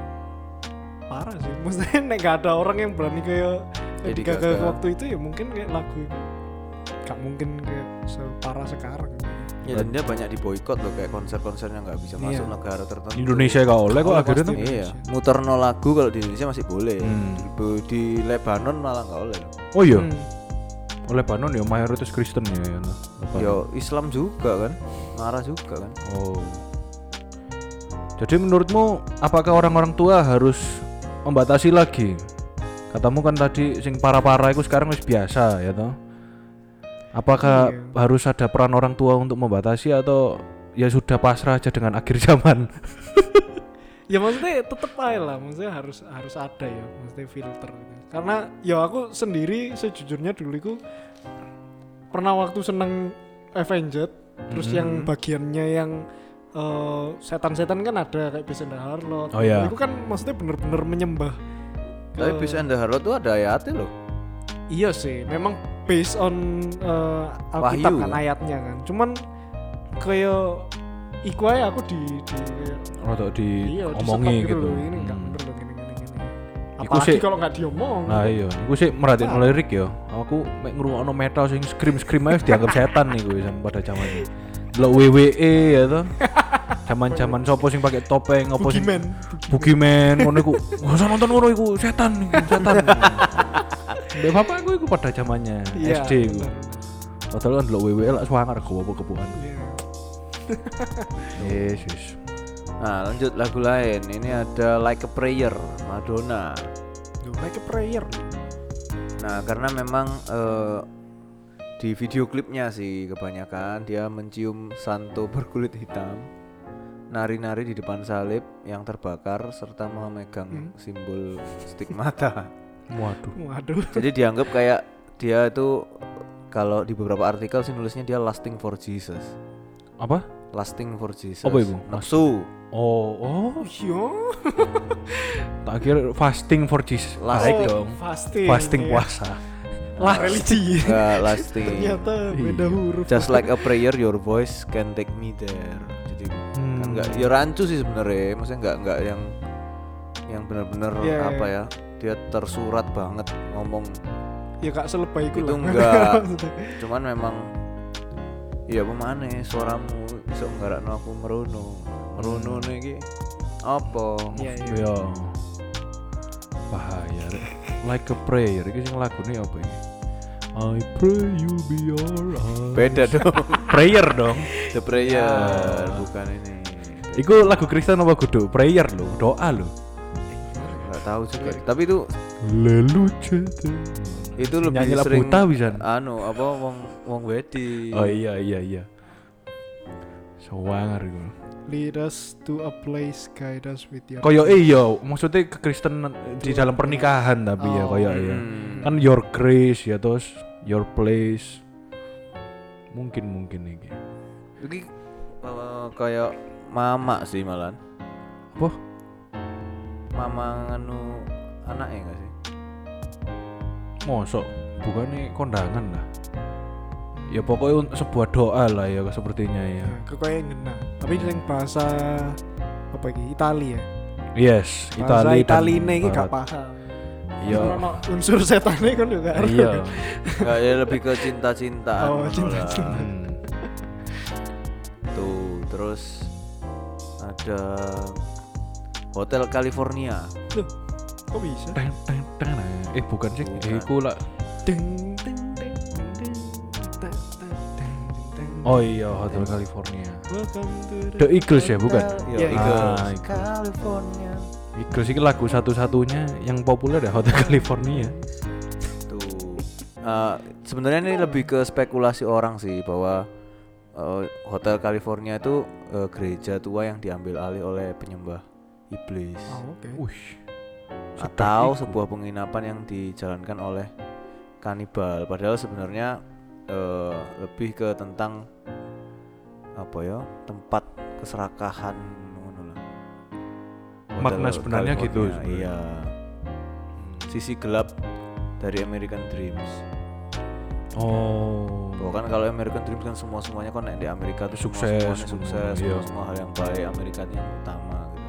parah sih. Maksudnya nek gak ada orang yang berani kayak Lady Lady Gaga Gaga. waktu itu ya mungkin kayak lagu itu gak mungkin kayak separah sekarang. Ya, dan dia banyak diboikot loh kayak konser-konsernya nggak bisa masuk Iya. negara tertentu. Indonesia gak oleh kok Oleh akhirnya pasti. tuh. Iya, muterno lagu kalau di Indonesia masih boleh. Hmm. Di, di Lebanon malah nggak oleh. loh. Oh iya, Hmm. oleh Lebanon ya mayoritas Kristen ya. ya no. Lebanon. Yo Islam juga kan, marah juga kan. Oh. Jadi menurutmu apakah orang-orang tua harus membatasi lagi? Katamu kan tadi sing para-para itu sekarang wis biasa ya toh. Apakah Iya. harus ada peran orang tua untuk membatasi atau ya sudah pasrah aja dengan akhir zaman? Ya maksudnya tetep aja lah, maksudnya harus harus ada ya, maksudnya filter. Karena ya aku sendiri sejujurnya dulu itu pernah waktu seneng Avenged, terus Mhm. yang bagiannya yang eh, setan-setan kan ada kayak Beast and the Harlot. Oh, iya. Itu kan maksudnya bener-bener menyembah Tapi Beast and the Harlot tuh ada ayatnya loh. Iya sih, memang based on uh, Alkitab Wahyu, kan kan? ayatnya kan. Cuman kayak iku aja aku di di kayak Rotok di iya omongi di-stop gitu. loh, ini enggak Hmm. bener loh gini gini gini. Iku Apalagi sih- kalau nggak diomong. Nah iya, aku sih merhatiin lirik ya. Aku mek ngrungokno metal sing scream-scream ae dianggap setan nih gue sama pada zamannya. Delok W W E ya toh. Zaman-zaman sopo sing pakai topeng opo sing Boogeyman. Boogeyman ngono iku. Gak usah nonton ngono iku, setan iku, setan. Mbak bapakku iku pada zamannya Iya, S D iku. bener. Padahal kan delok W W E lak swanger gowo kebukan. Iya. Yesus. Nah lanjut lagu lain. Ini ada Like a Prayer Madonna. Duh, like a prayer. Nah karena memang eh, di video klipnya sih kebanyakan dia mencium santo berkulit hitam, nari-nari di depan salib yang terbakar serta memegang simbol stigmata. Waduh. Waduh. Jadi dianggap kayak dia itu kalau di beberapa artikel sih nulisnya dia lasting for Jesus. Apa? Lasting for Jesus. Apa itu? Nafsu. Oh, oh, Iya. tak kira fasting for Jesus. Lasting. Baik dong. Fasting. Fasting iya. puasa. Lah religi. Enggak lasting. Ternyata beda huruf. Just like a prayer, your voice can take me there. Jadi Hmm. kan enggak ya rancu sih sebenarnya. Maksudnya enggak enggak yang yang benar-benar Iya, apa iya. ya? Dia tersurat banget ngomong. Ya kak selebay iku Itu lah. enggak. Cuman memang iya pemane suaramu bisa nggarakno aku merono. Merono iki apa? Iya iya. Yo. Bahaya. Rek. Like a prayer. Iki sing lagune apa ini? I pray you be alright. Beda dong. Prayer dong. The prayer Ah. bukan ini. Iku lagu Kristen apa kudu? Prayer lo, doa lo. Enggak tahu juga. Tapi itu Leluce. itu lebih Nyanyi lagu sering buta bisa. anu apa wong wong wedi. Oh iya iya iya. Sawangar iku. Lead us to a place, guide us with your. Koyo iya, maksudnya kekristenan di dalam pernikahan tapi ya Oh. koyo iya. Hmm. Kan your grace ya terus your place. Mungkin mungkin iki. Iki uh, kayak mama sih malan. Apa? Mama nganu anaknya enggak sih? Mosok bukannya kondangan lah. Ya pokoknya un- sebuah doa lah ya sepertinya ya. Kekoyak ngena. Tapi yang bahasa apa iki? Itali ya. Yes, Bahasa Itali Itali dan ini iki gak Barat. paham. Iya. Ono unsur setane kan juga. Iya. Enggak ya lebih ke cinta-cintaan. Oh, ngono cinta-cinta. lah. Hmm. Tuh, terus ada Hotel California. Loh, kok bisa? Teng, teng, teng, teng. Eh bukan sih, Bukan. eh, iku lah. Deng deng deng deng deng deng deng deng. Oh iya, Hotel California. Welcome to The Eagles ya, bukan? Yo, Iya, Eagles. Ah, Eagles. California. Eagles ini lagu satu-satunya yang populer ya Hotel California. Tuh. Uh, sebenarnya ini lebih ke spekulasi orang sih bahwa uh, Hotel California itu uh, gereja tua yang diambil alih oleh penyembah iblis. Oh, oke. Wih. Atau sebuah penginapan yang dijalankan oleh kanibal. Padahal sebenarnya uh, lebih ke tentang apa ya, tempat keserakahan ngono lah. Hotel Makna sebenarnya gitu California, sebenarnya. iya. Sisi gelap dari American Dreams. Oh. Bahwa kan kalau American Dreams kan semua semuanya kan di Amerika tuh Sukses, semua semua, sukses, iya. semua, semua hal yang baik Amerika yang utama gitu.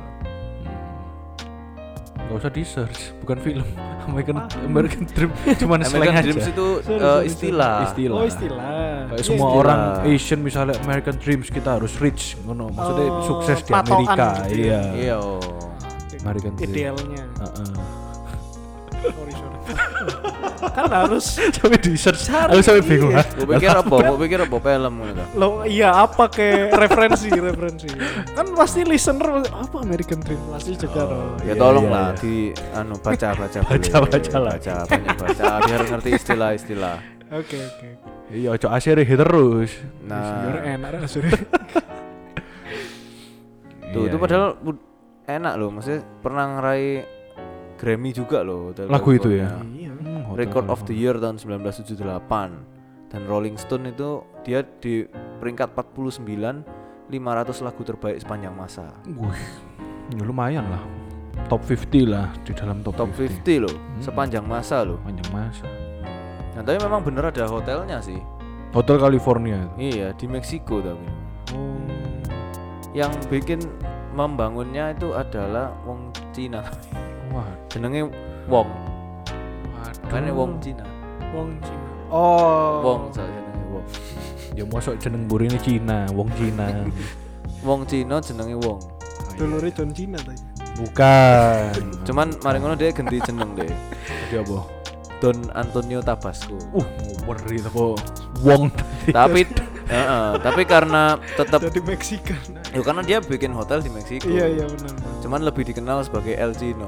Hmm. Gak usah di search, bukan film. American American Dream cuman slang American aja. Dreams itu Sorry, uh, sorry, istilah. Istilah. Oh, istilah. Kayak Iya, semua istilah. orang Asian misalnya American Dreams kita harus rich, ngono. Maksudnya Oh, sukses di patokan Amerika, gitu ya. iya. Iya. oh. American Dream. Idealnya. Heeh. Sorry, sorry. Kan harus Sampai di search, aku sampai bingung. Iya. Gue pikir apa? Gue pikir apa film gitu. lo iya apa ke referensi referensi kan pasti listener apa American Dream pasti juga dong. Ya Iya, tolong iya, lah iya. di anu baca baca Baca, baca lah. baca banyak baca biar ngerti istilah-istilah. Oke oke. Iya, ojo asire terus. Nah, Biar enak kan sudah. tuh Iya, itu iya. padahal bud- enak loh, maksudnya pernah ngeraih Grammy juga loh Hotel Lagu itu ya? California. Iya. Hmm, Hotel Record of the California. Year tahun sembilan belas tujuh puluh delapan dan Rolling Stone itu dia di peringkat empat puluh sembilan lima ratus lagu terbaik sepanjang masa. Wih, ya lumayan lah. top lima puluh lah, di dalam top, top lima puluh loh, sepanjang masa loh. Panjang masa. Nah, tapi memang bener ada hotelnya sih. Hotel California. Iya, di Meksiko tapi. Oh. Yang bikin membangunnya itu adalah wong Cina. Wah, Jenenge Wong. waduh. Kan wong Cina. Wong Cina. Oh. Wong saya jenenge Wong. Ya mosok jeneng burine Cina, wong Cina. Wong Cina jenenge Wong. Dulure John Cena tadi. Bukan. Cuman mari ngono dia ganti jeneng deh. Jadi apa? Don Antonio Tabasco. Uh, ngeri apa? Wong tadi. Tapi heeh, tapi karena tetap Jadi Meksikan. ya karena dia bikin hotel di Meksiko. Iya iya benar. Cuman lebih dikenal sebagai El Chino.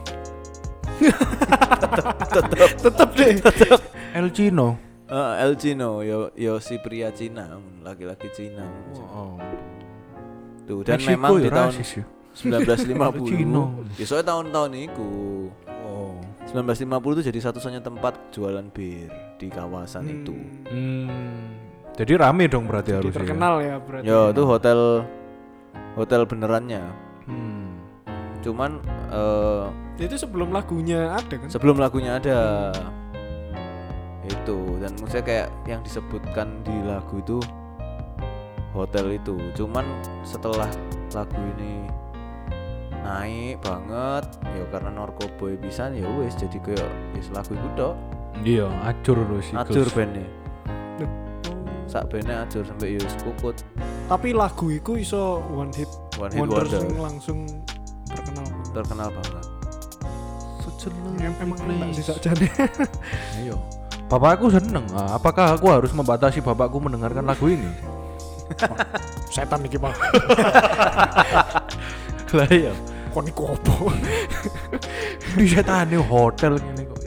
Tetap deh. El Chino. Eh, El Chino, yo yo si pria Cina, laki-laki Cina. Wow. Tuh, dan Meksiko memang di ya tahun rasis ya. sembilan belas lima puluh. Cino. Ya soalnya tahun-tahun itu Oh. sembilan belas lima puluh itu jadi satu-satunya tempat jualan bir di kawasan itu. Hmm. Jadi rame dong berarti Jadi harusnya. terkenal ya berarti. Yo, itu hotel hotel benerannya. Hmm. Cuman eh, Itu sebelum lagunya ada kan? sebelum lagunya ada itu, dan maksudnya kayak yang disebutkan di lagu itu hotel itu. Cuman setelah lagu ini naik banget ya karena narkoboy pisan ya wis jadi kayak wis lagu iku tok. Iya, acur loh sih. Acur bandnya. Sak bandnya acur sampai ya wis puput. Tapi lagu itu iso one hit One hit wonder wonder. sing langsung terkenal. Terkenal banget. Em- Emang enak sih sakjane. Ayo. Bapakku seneng. Ah, apakah aku harus membatasi bapakku mendengarkan lagu ini? Setan iki, Pak. Lah iya. Kon iku opo? Di setane hotel ngene kok.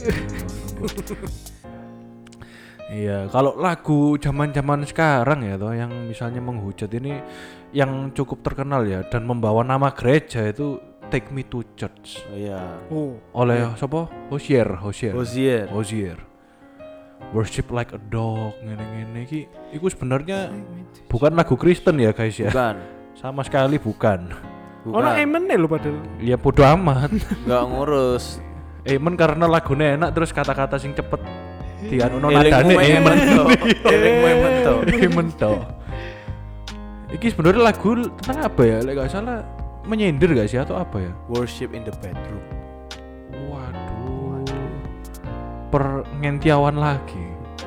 Iya, kalau lagu zaman-zaman sekarang ya toh yang misalnya menghujat ini yang cukup terkenal ya dan membawa nama gereja itu Take Me to Church Oh iya. Oh, oleh siapa? Hosier, Hosier. Hozier. Hosier. Worship like a dog ngene-ngene iki iku sebenarnya bukan lagu Kristen ya guys ya. Bukan. Sama sekali bukan. Bukan. ono emen lho padahal. Ya bodo amat. Enggak ngurus. Emen karena lagunya enak terus kata-kata sing cepet dianu Elingmu nadane emen to. Iya. Elingmu emen to. Emen to. Iki sebenarnya lagu tentang apa ya? Lek gak salah menyindir gak sih atau apa ya? Worship in the bedroom. Waduh. Pengentiawan lagi.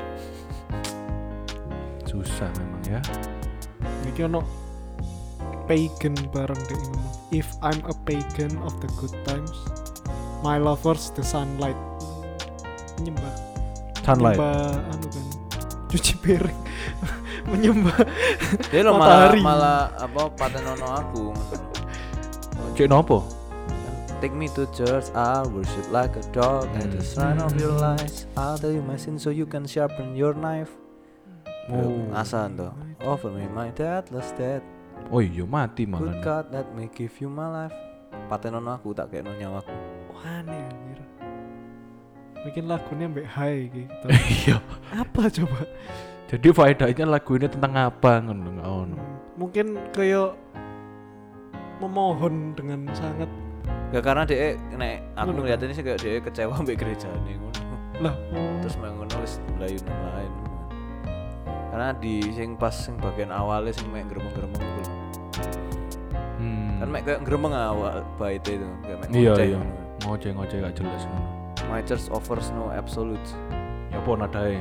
Susah memang ya. Iki ono pagan bareng deh ngomong. If I'm a pagan of the good times, my lovers the sunlight. Menyembah. Sunlight. Menyembah anu kan. Cuci piring. Menyembah Dia lo malah matahari. malah apa patenono aku. Cek nopo? Take me to church, I'll worship like a dog. At the sign of your lies, I'll tell you my sins so you can sharpen your knife. Oh. Asan tuh. Offer me my deathless death. Oh iya mati Good malah. God, let me give you my life. Patenono aku tak kayak nyawaku. aneh anjir. Bikin lagunya mbak high gitu. Iya. Apa coba? Jadi faedahnya lagu ini tentang apa ngono ngono. Mungkin kayak memohon dengan sangat Gak karena dia nek aku Ngono. ngeliat ini sih kayak dia kecewa mbek gereja nih ngono. lah. Oh. Terus mek ngono wis mlayu nang lain. Karena di sing pas sing bagian awalnya sing mek gremeng-gremeng iku lho. Hmm. Kan mek kayak gremeng awal baite itu, kayak mek Iya ngoceh iya. ngono. Ngoceh-ngoceh gak jelas ngono. My church offers no absolute. Ya apa nadae?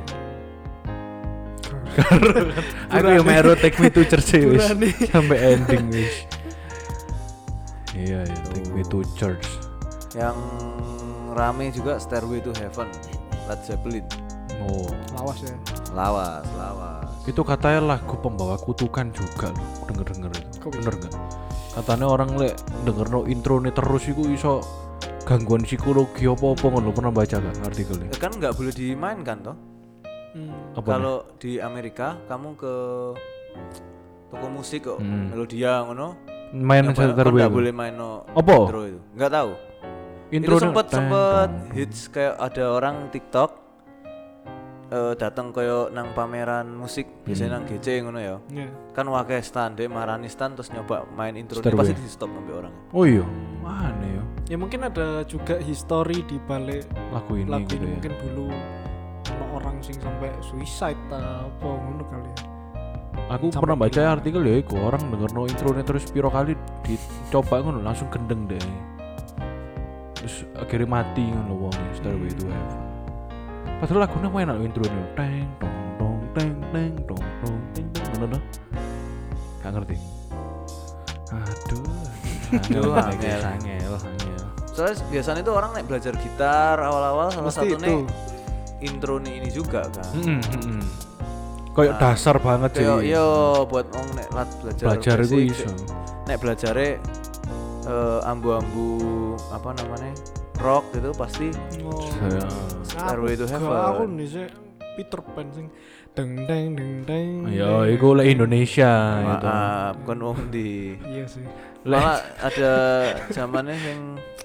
Aku yang mero Take Me to Church wis Burane. sampai ending wis. Iya ya, Take Me to Church. Yang rame juga Stairway to Heaven, Led Zeppelin. Oh, Lawas ya. Lawas, lawas. itu katanya lagu pembawa kutukan juga loh. Denger-denger itu. Kok bisa? Bener gak? Katanya orang lek denger no intro nih terus iku iso gangguan psikologi apa-apa ngono, pernah baca gak artikelnya? Ya kan nggak boleh dimainkan toh. Hmm. Apa Kalau di Amerika kamu ke toko musik kok, Hmm. Melodia ngono. nih? Main nggak sekitar nggak web. boleh main no Apa? intro itu. Nggak tahu. Intro itu sempet sempet hits kayak ada orang TikTok eh, datang koyo nang pameran musik biasanya nang G C ngono ya. Ya. Kan wakai stand deh marani stand terus nyoba main intro ini Stairway. pasti di stop sampai orang. Oh iya, mana ya? Ya mungkin ada juga history di balik lagu ini lagu gitu ini. ya. Mungkin dulu ono orang sing sampai suicide ta apa ngono kali ya. Aku Sampai pernah baca gila. artikel ya iku orang dengerno intronya terus piro kali dicoba ngono langsung gendeng deh. Terus akhirnya mati ngono wong Stairway to Heaven. Padahal lagunya main enak intronya. Teng tong tong teng teng tong tong teng teng ngono dah. Gak ngerti. Aduh. Aduh, angel, angel. angel, angel. Soalnya biasanya itu orang naik belajar gitar awal-awal salah Mesti satunya itu. intro nih ini juga kan. Heeh, heeh. Kayak Nah, dasar banget sih. Kayak yo buat wong nek lat belajar Belajar itu basic, iso. nek belajare eh, ambu-ambu apa namanya rock gitu pasti Oh. Saya Stairway to Aku Heaven. nih sih Peter Pan sing deng deng deng deng. ya iku lek Indonesia gitu. Maaf, bukan wong di Iya sih. malah ada zamannya yang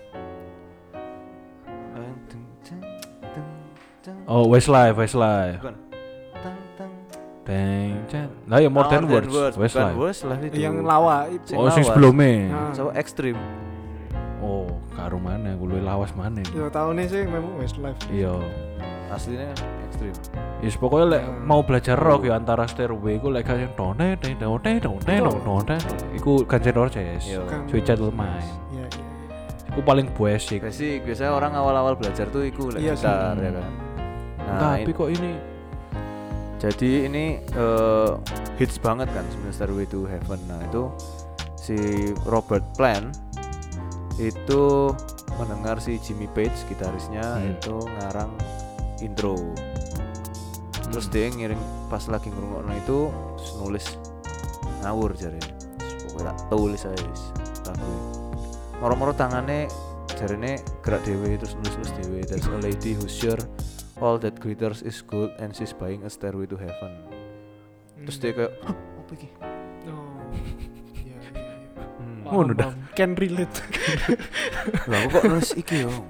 eh, deng, deng, deng, deng. Oh, Westlife, Westlife. Bukan. Tang, tang. Deng, cen. Lah ya More Than More Words, bukan Westlife. Westlife itu. Yang lawa itu. Sing Oh, sing lawas. sebelumnya. Nah. So ekstrim. Oh, karo mana? Gue luwih lawas mana? Ya tahunnya sih memang Westlife. Iya. Aslinya ekstrim. Yes, pokoknya lek mau belajar rock ya antara Stairway iku lek yang tone tone tone tone tone tone. Iku Guns N' Roses. Iya. Bukan. Sweet Child O' Mine. Iya, iya, iya. Iku paling basic. Basic, biasanya orang awal-awal belajar tuh iku lek Iya sih. gitar ya kan. Nah, Tapi in- kok ini jadi ini eh, hits banget kan sebenarnya Stairway to Heaven. Nah, itu si Robert Plant itu mendengar si Jimmy Page gitarisnya Hmm. itu ngarang intro. Terus dia ngiring pas lagi ngrungokno itu terus nulis ngawur jare. Pokoknya tak tulis aja wis lagu. Moro-moro tangane jarene gerak dhewe terus nulis-nulis dhewe. There's a lady who's sure all that glitters is gold and she's buying a stairway to heaven. Terus dia kayak, "Hah, apa iki?" Oh. Iya, iya, iya. Hmm. Oh, Paham, udah. paham. Can relate. Lah aku kok nulis iki yo.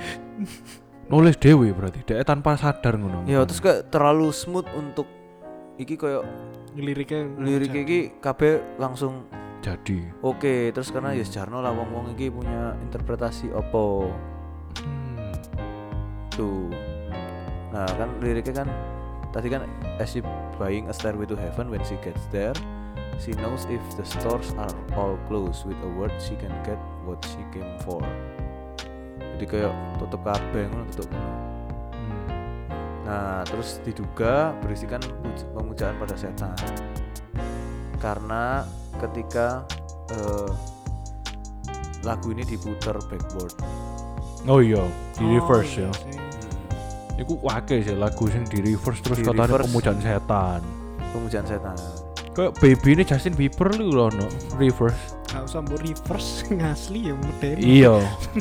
nulis dewe berarti dia tanpa sadar ngono. Ya terus kayak terlalu smooth untuk iki koyo Liriknya lirik iki kabeh langsung jadi. oke. Terus karena ya sejarno lah wong-wong iki punya interpretasi opo Hmm. tuh. Nah kan liriknya kan tadi kan as she buying a stairway to heaven when she gets there she knows if the stores are all closed with a word she can get what she came for. Jadi kayak tutup kabeh ngono tutup ngono. Hmm. Nah, terus diduga berisikan puj- pemujaan pada setan. Karena ketika eh, lagu ini diputar backward. Oh iya, di Oh, reverse iya ya. sih. Iku wakil sih lagu sing di reverse terus Di katanya reverse. pemujaan setan. Pemujaan setan. Kayak baby ini Justin Bieber lu loh no reverse. Gak usah mbok reverse ngasli ya modern. Iya.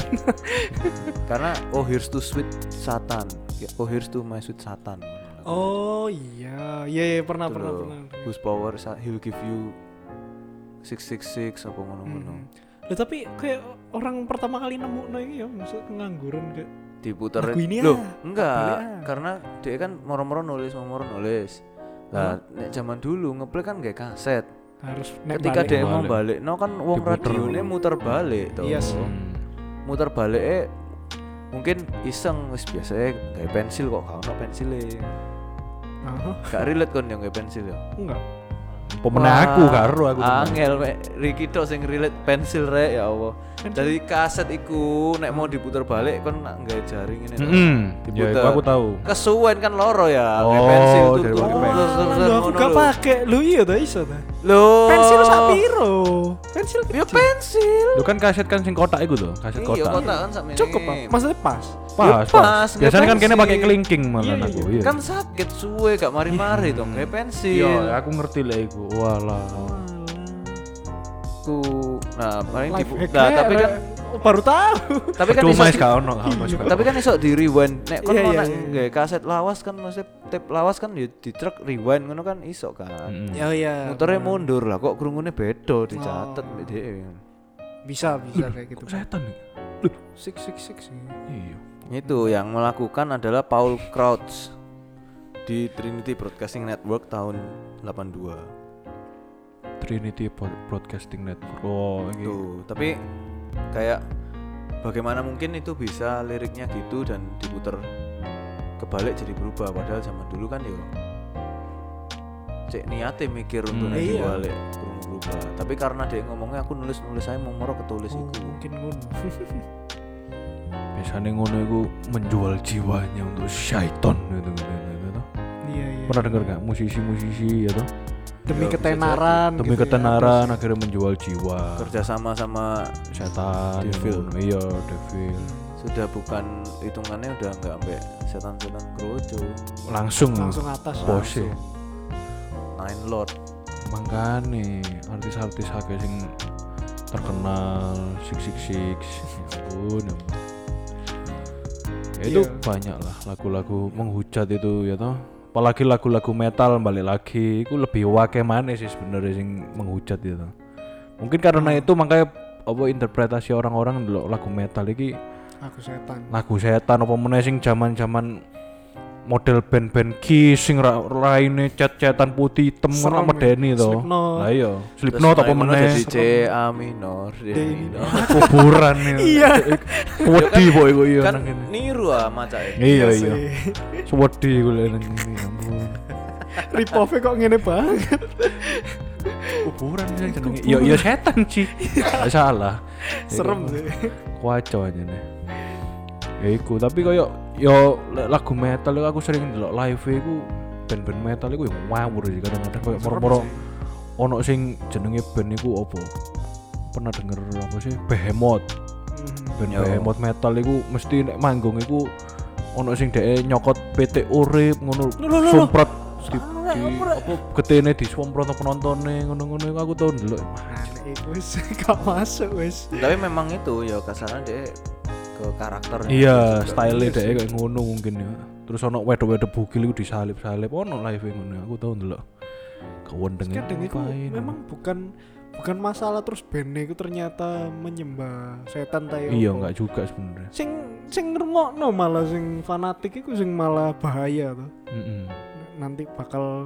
Karena oh here's to sweet Satan. Oh here's to my sweet Satan. Oh iya, iya, iya pernah Itu pernah loh. pernah. Whose power is- he'll give you six six six apa ngono-ngono. Hmm. Loh, tapi kayak orang pertama kali nemu no ini ya maksud pengangguran kayak Diputer Lagu ini loh ah, enggak balik ah. karena dia kan moro-moro nulis moro nulis lah nek zaman dulu ngeplay kan gak kaset harus nek ketika balik. dia mau balik. balik no kan wong Diputer. radionya muter balik tuh Iya sih. Hmm. muter balik eh mungkin iseng wis biasanya kayak pensil kok gak ono pensile Aha, gak relate kon yang kayak pensil ya enggak. Pemenang aku karo aku temen. angel mek Ricky tok sing relate pensil rek ya Allah Pensil. dari kaset iku nek mau diputer balik kon nggak jaring ini Heeh. Ya Diputer. iku aku tahu. kesuwen kan loro ya Oh, kayak pensil tuh dari tuh, pakai tuh, pensil. tuh, tuh, Oh, tuh, lu aku ngono gak lho. pakai. Lu iya ta iso ta. Loh. Pensil sak piro? Pensil Ya kecil. pensil. Lu kan kaset kan sing kotak iku tuh, kaset Iya kotak. kotak kan sak Cukup, Pak. Maksudnya pas. Pas, Ya, pas. pas, Biasanya kan nggak kene pakai pensil. kelingking malah Iya, aku. iya. Iya. Kan sakit suwe gak mari-mari dong kayak pensil. Iya, aku ngerti lah iku. Walah. Tuh. Nah, paling Life dibu- hack Nah, tapi kan baru tahu. tapi kan Cuma iso is gak ono, gak ono, is gak tapi ono. kan iso di rewind. Nek kon Iya, mau iya, nak iya. nggawe kaset lawas kan maksudnya tape lawas kan ya di truk rewind ngono kan iso kan. Mm-mm. Ya iya. Muternya bener. mundur lah kok krungune beda dicatet Oh. mbek dhewe. Bisa, bisa kayak gitu. Kok setan nih? Six six six. Iya. Itu yang melakukan adalah Paul Crouch di Trinity Broadcasting Network tahun delapan dua. Trinity Pod- Broadcasting Network. Oh, ini. Tuh, tapi kayak bagaimana mungkin itu bisa liriknya gitu dan diputer kebalik jadi berubah, padahal zaman dulu kan yo cek niatnya mikir untuk Hmm. nanti Iya. balik kurang berubah, tapi karena dia ngomongnya aku nulis nulis saya mau moro ketulis Oh, iku. mungkin ngono. Biasanya ngono itu menjual jiwanya untuk syaiton gitu gitu. gitu. Iya iya. Pernah dengar gak musisi-musisi ya toh? Demi Ya, bisa ketenaran. Demi gitu ya, ketenaran terus akhirnya menjual jiwa. Kerja sama sama Setan. Devil. ngono. Iya, devil. sudah bukan hitungannya udah nggak sampai setan-setan kroco, Langsung langsung atas. bose. Nine Lord. Mangkane artis-artis akeh sing terkenal six six six ya ampun, ya ampun. Ya, itu Iya. banyak lah lagu-lagu menghujat itu ya toh, apalagi lagu-lagu metal balik lagi itu lebih wake maneh sih sebenarnya sing menghujat itu. Mungkin karena itu makanya apa interpretasi orang-orang ndelok lagu metal iki Aku setan. lagu setan apa meneh sing zaman-zaman model band-band Kiss sing ra- raine cet-cetan putih hitam Serem ngono medeni ya. to. Slipknot. Lah iya, Slipknot apa meneh jadi C A minor, D D minor. kuburan ya. Iya. Wedi po iku iya Kan nang kene. niru ah macake. Iya sih. iya. Wedi iku lek nang kene ya ampun. Rip off kok ngene banget. Kuburan sih jenenge. Iya iya setan sih. Gak salah. Serem sih. Kuaco aja nih. Ya iku, tapi koyo yo lek lagu metal iku aku sering ndelok live iku band-band metal iku yo ngawur sih kadang-kadang koyo moro-moro ono sing jenenge band iku opo? Pernah denger apa sih? Behemoth. Hmm. Band Yo. Behemoth metal iku mesti nek manggung iku ono sing dhek nyokot P T urip ngono somprot di, di apa getene disomprot penontonnya ngono-ngono iku aku tau ndelok. Nah, nek iku wis gak masuk wis. Tapi memang itu ya kasarnya dia ke karakternya. Iya, Juga. style dhek kayak ngono mungkin ya. Terus ono wedok-wedok bugil iku disalip-salip ono live ngono aku tau ndelok. Kewendeng Kadang itu memang bukan bukan masalah terus bandnya itu ternyata menyembah setan ta ya iya apa. enggak juga sebenarnya. Sing sing ngrungokno malah sing fanatik iku sing malah bahaya tuh. Heeh. Nanti bakal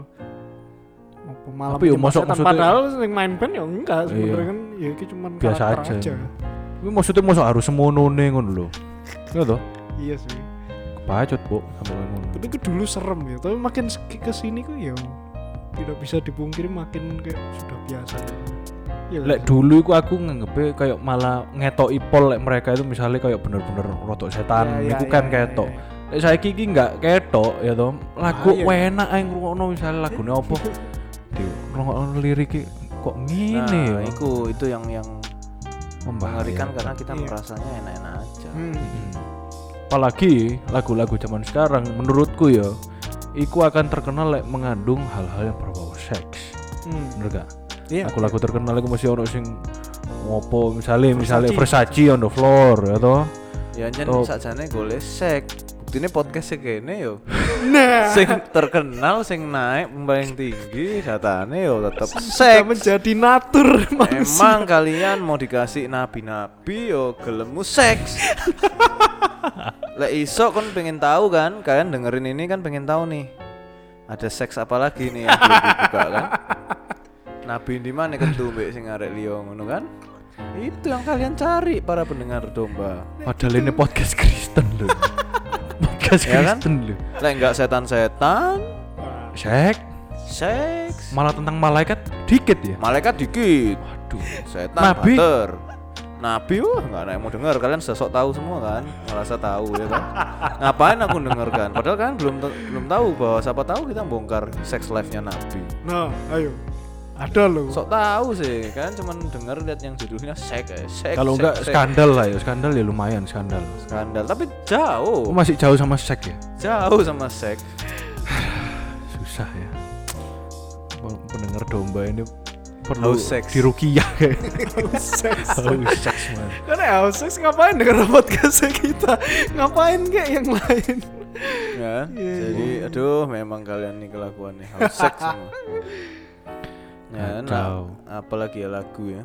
apa malah Tapi ya menyembah masuk- setan. maksudnya- Padahal sing main band ya enggak sebenarnya Iya. kan ya itu cuman Biasa karakter aja. aja. Tapi maksudnya mosok harus semonone ngono lho. Ya toh? Iya sih. Kebacut, Bu, sampai ngono. Tapi itu dulu serem ya, tapi makin ke kesini kok ya tidak bisa dipungkiri makin kayak sudah biasa. Ya, Lek dulu iku aku nganggepe kayak malah ngetoki pol lek mereka itu misalnya kayak bener-bener rotok setan ya, iku ya, kan ya, ketok. ya, Lek saiki iki enggak ketok ya toh. Lagu Ah, iya. enak ae ngrungokno misalnya lagune opo. Di ngrungokno lirik kok ngene Nah, ya. itu itu yang yang mengerikan Membahayakan. karena kita Iya. merasanya enak-enak aja. Hmm. Hmm. Apalagi lagu-lagu zaman sekarang menurutku ya iku akan terkenal lek mengandung hal-hal yang berbau seks. Hmm. Bener gak? Iya. Lagu-lagu terkenal iku mesti ono sing ngopo misalnya misalnya Versace. Versace on the floor ya toh. Ya jen Top. sakjane golek sek. Buktine podcast kene yo. Nah, Sing terkenal sing naik paling tinggi datane yo tetep sudah sek. menjadi natur manusia. Emang kalian mau dikasih nabi-nabi yo gelemu seks. Lek iso kon pengen tahu kan, kalian dengerin ini kan pengen tahu nih. Ada seks apa lagi nih yang belum dibuka kan? Nabi di mana kentu mbek sing arek liya ngono kan? Itu yang kalian cari para pendengar domba. Padahal ini podcast Kristen loh. Podcast Ya kan? Kristen loh. Lek enggak setan-setan, Seks seks. malah tentang malaikat dikit ya. Malaikat dikit, Waduh. setan Nabi? banter. Nabi wah enggak ada yang mau denger, kalian sudah sok tahu semua kan? Ngerasa tahu ya kan? Ngapain aku dengarkan? Padahal kan belum te- belum tahu bahwa siapa tahu kita bongkar sex life-nya Nabi. Nah, ayo. Ada loh. Sok tahu sih, kan cuman denger lihat yang judulnya seks, eh. seks. Kalau seks, enggak seks. skandal lah ya, skandal ya lumayan skandal. Skandal, tapi Oh, jauh, masih jauh sama seks ya? jauh sama seks. Susah ya. Pendengar domba ini perlu Haus seks. diruqyah kayak. Seks. Haus seks man. Karena ya seks ngapain denger podcast kita? Ngapain kayak yang lain? Ya, Iya, jadi aduh memang kalian nih kelakuannya haus seks semua. Ya, nah, Kacau. apalagi ya lagu ya.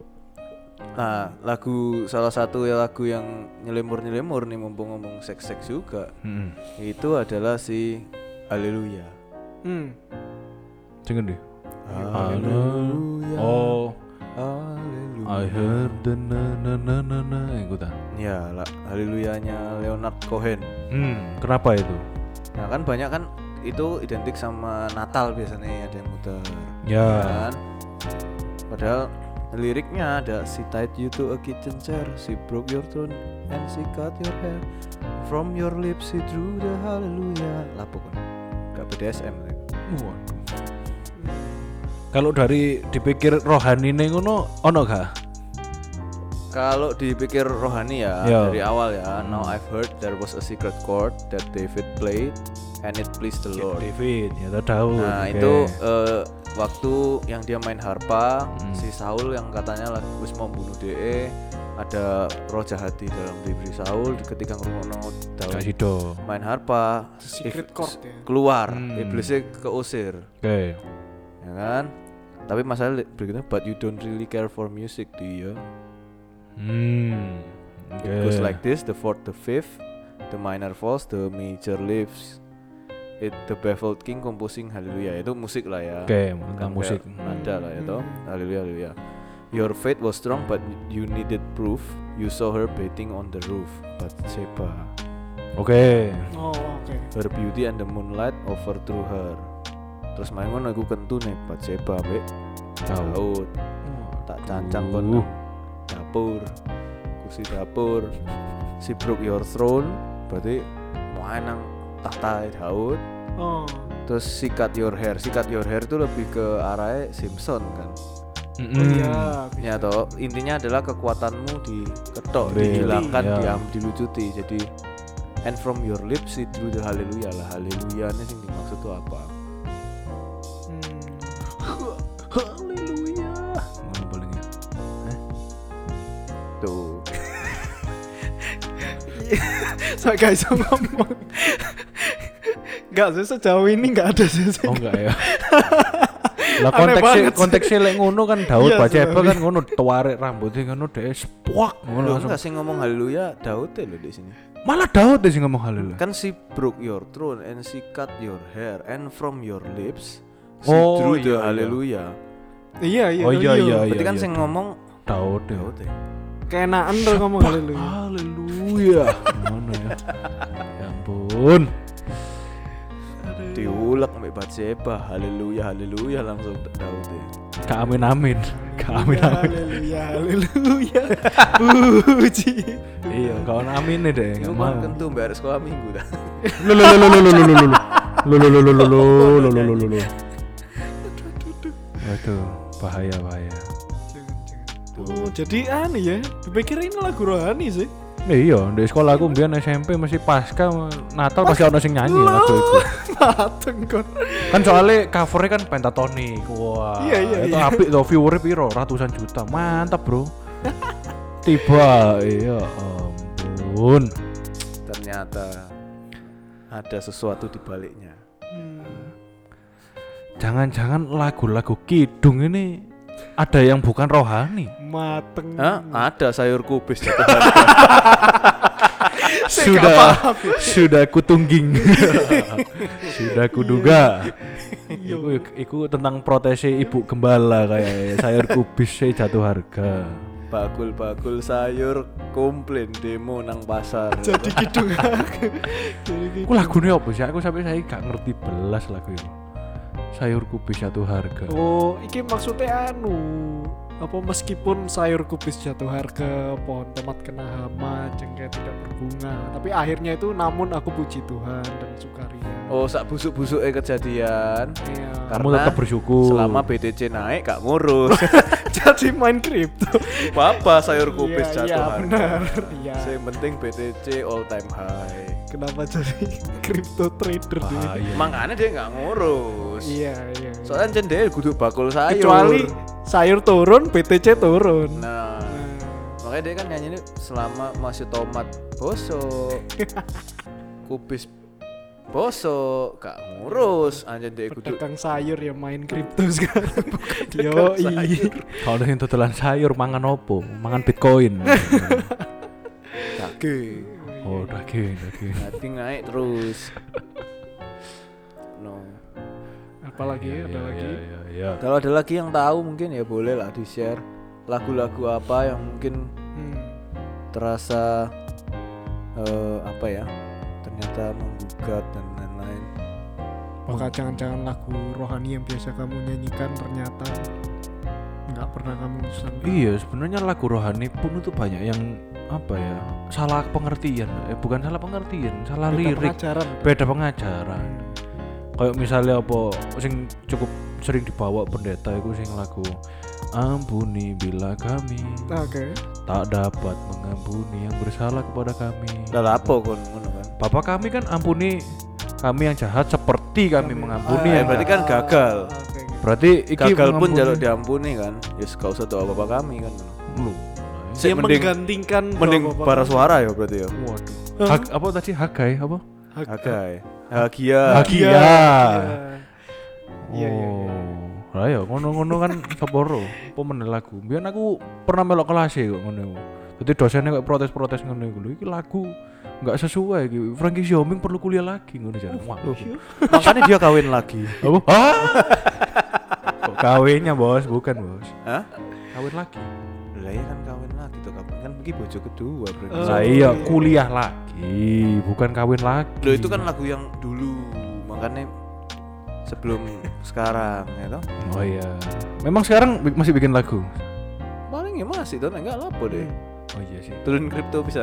Nah, lagu salah satu ya lagu yang nyelemur-nyelemur nih mumpung ngomong seks-seks juga. Heeh. Itu adalah si Haleluya. Hmm. Jangan deh. Haleluya. Oh, Haleluya. I heard the na na na na na. Iku ta. Ya, la- Haleluyanya Leonard Cohen. Hmm, kenapa itu? Nah kan banyak kan itu identik sama Natal biasanya ada yang muter. Ya. Kan? Padahal liriknya ada she tied you to a kitchen chair, she broke your throne and she cut your hair. From your lips she drew the hallelujah. Lapo kan? Gak B D S M. Waduh. Kalau dari dipikir rohani nih ngono ono gak? Kalau dipikir rohani ya Ya. dari awal ya. Now I've heard there was a secret chord that David played and it pleased the Lord. David, ya tau tahu. Nah Oke. itu eh, waktu yang dia main harpa, Hmm. si Saul yang katanya lagi wis mau bunuh D E, ada roh jahat di dalam diri Saul ketika ngrungokno Gak Daud sido. main harpa, Secret if- chord ya. keluar, Hmm. iblisnya keusir, Oke. ya kan? Tapi masalah li- berikutnya, but you don't really care for music, do you? Hmm. Oke. It goes like this: the fourth, the fifth, the minor falls, the major lifts. It the baffled king composing hallelujah. Itu musik lah ya. Oke, tentang Kan musik. kayak Nada lah ya toh. Hmm. Haleluya haleluya. Your faith was strong but you needed proof. You saw her bathing on the roof. Bathsheba. Oke. Oh, oke. Her beauty and the moonlight overthrew her. Terus main ngono iku kentu nih Bathsheba mbek Tahu. Daud. Tak cancang kon Uh. nang dapur. Kursi dapur. She broke your throne. Berarti main nang tahta Daud. Oh. Terus sikat your hair. Sikat your hair itu lebih ke arahnya Simpson kan. Oh Mm-mm. iya. Ya toh, intinya adalah kekuatanmu diketok, Di- dihilangkan, ya. diam, dilucuti. Jadi and from your lips it drew the haleluya lah. Haleluya ini yang dimaksud tuh apa? Hmm. Haleluya. Ngono paling ya. Tuh. Saya gak bisa ngomong. Gak sih sejauh ini gak ada sih. Oh enggak ya. Lah Aneh konteksnya banget sih. konteksnya lek ngono kan Daud Iya, Bathsheba sebenarnya. kan ngono tuarek rambutnya ngono dhek spuak ngono Lo langsung. enggak sih ngomong haleluya Daud ya lo di sini. Malah Daud deh sing ngomong haleluya. Kan she broke your throne and she cut your hair and from your lips she Oh, drew iya, the iya. haleluya. Iya iya. Oh iya iya Berarti iya. kan iya. sing ngomong Daud ya. Daud ya. Keenaan tuh ngomong haleluya. Haleluya. Ngono ya. Ya ampun. Diulek sampai Bathsheba. Haleluya haleluya langsung Daud ya. Kak amin amin. Kak amin amin. Haleluya haleluya. Puji. Iya, kawan amin nih deh, Itu enggak mau. kan kentu bayar sekolah minggu dah. Lu lu lu lu lu lu lu lu lu. Lu lu lu lu lu lu lu lu lu lu lu. Waduh, bahaya bahaya. Oh, jadi aneh ya. Dipikir ini lagu rohani sih. Eh, iya, di sekolah aku mbiyen S M P masih pasca Natal pasti ono sing nyanyi lagu itu. Mateng kon. Kan soalnya covernya kan pentatonic. Wah. Iya, iya, Itu iya. apik tuh viewernya piro? Ratusan juta. Mantap, Bro. Tiba, iya ampun. Ternyata ada sesuatu di baliknya. Jangan-jangan lagu-lagu kidung ini ada yang bukan rohani. Mateng. Hah? Ada sayur kubis jatuh harga. Sudah sudah kutungging. Sudah kuduga. Iku, iku tentang protesi ibu gembala kayak sayur kubis e jatuh harga. Bakul-bakul sayur komplain demo nang pasar. Jadi gitu. Jadi gitu. Aku lagune apa sih? Aku sampai saya gak ngerti belas lagu itu. Sayur kubis jatuh harga. Oh, iki maksudnya anu apa meskipun sayur kubis jatuh harga, pohon tomat kena hama, jengkel tidak berbunga, tapi akhirnya itu namun aku puji Tuhan dan sukaria. Oh, sak busuk-busuknya kejadian. Iya. Kamu Karena tetap bersyukur. Selama B T C naik gak ngurus. Jadi main kripto. Apa sayur kubis Iya, jatuh iya, harga. benar. Iya. Yang penting B T C all time high. Kenapa jadi kripto trader dia? Bahaya. Makanya dia nggak ngurus. Iya, iya. iya. Soalnya jen dia kudu bakul sayur. Kecuali sayur turun, B T C turun. Nah, Nah, makanya dia kan nyanyi ini selama masih tomat bosok, kubis bosok, gak ngurus. Anjen dia kudu pedagang sayur ya main kripto sekarang. Yo, iya. Kalau yang tutulan sayur mangan opo? Mangan bitcoin. daging. Oh, daging, daging. Nanti naik terus. No. Apalagi Iya, ada iya, lagi. iya, iya, iya. Kalau ada lagi yang tahu mungkin ya boleh lah di share lagu-lagu apa yang mungkin Hmm. terasa uh, apa ya? Ternyata menggugat dan lain-lain. Maka jangan-jangan lagu rohani yang biasa kamu nyanyikan ternyata nggak pernah kamu sangka. Iya, sebenarnya lagu rohani pun itu banyak yang apa ya? Salah pengertian. Eh bukan salah pengertian, salah Beda lirik. pengajaran. Beda pengajaran. Kayak misalnya apa sing cukup sering dibawa pendeta itu sing lagu ampuni bila kami Oke. tak dapat mengampuni yang bersalah kepada kami. Lah apa kon ngono kan? Bapak kami kan ampuni kami yang jahat seperti kami, mengampuni Ah, yang berarti jahat. kan gagal. Oke. Berarti iki Gagal pun mengampuni. jaluk diampuni kan. Ya gak usah doa bapak kami kan. Lu. Sik Dia mending menggantikan mending doa bapak bara kamu. suara ya berarti ya. Waduh. Hah? Hag, apa tadi Hagai apa? Hagai. Bahagia. Bahagia. Iya. Oh. Iya, iya, iya. Lah ya ngono-ngono kan saporo. Apa meneh lagu. Biyen aku pernah melok kelas e kok ngono. Dadi dosennya kok protes-protes ngono iku lho. Iki lagu enggak sesuai iki. Frankie Xiaoming perlu kuliah lagi ngono jan. Wah. Makanya dia kawin lagi. Apa? Hah? Kok kawinnya, Bos? Bukan, Bos. Hah? Kawin lagi. Lah ya kan kawin lagi tuh kapan kan pergi bojo kedua berarti. Oh. Lah iya, kuliah lagi, bukan kawin lagi. Loh itu kan lagu yang dulu, makanya sebelum sekarang ya toh. Oh iya. Memang sekarang bi- masih bikin lagu. Paling ya masih tuh enggak lapo deh. Oh iya sih. Turun kripto bisa.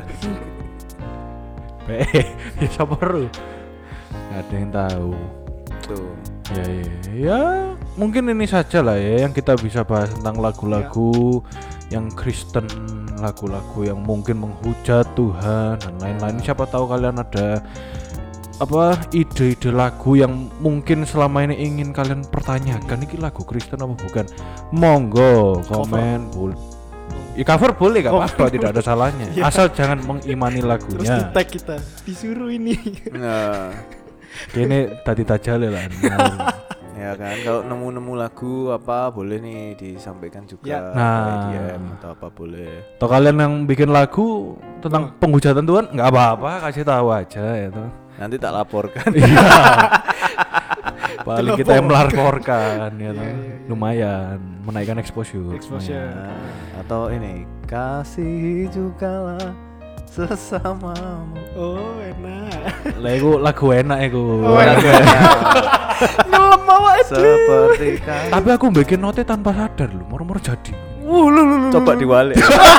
Be, ya siapa ru? Gak ada yang tahu. Tuh. Ya, ya, ya, mungkin ini saja lah ya yang kita bisa bahas tentang lagu-lagu yang Kristen, lagu-lagu yang mungkin menghujat Tuhan dan lain-lain. Siapa tahu kalian ada apa ide-ide lagu yang mungkin selama ini ingin kalian pertanyakan, ini lagu Kristen apa bukan? Monggo komen, boleh. Ya, cover boleh gak apa-apa, tidak ada salahnya. Ya. Asal jangan mengimani Terus lagunya. di tag kita disuruh ini. Nah, Kini tadi tajale lah. ya kan kalau nemu-nemu lagu apa boleh nih disampaikan juga. Ya. Nah. D M atau apa boleh. Atau kalian yang bikin lagu tentang penghujatan Tuhan nggak apa-apa, kasih tahu aja ya toh. Nanti tak laporkan. Iya. Paling kita yang melaporkan ya toh. Iya, iya, iya. Lumayan menaikkan exposure. Exposure. Nah, atau ini kasih jugalah sesamamu. Oh, enak. Lah iku lagu enak iku. Oh, Lagu enak. enak. Ngelem awak Seperti kan. Tapi aku bikin note tanpa sadar loh, moro-moro jadi. Uh, lu lu lu. Coba diwalik.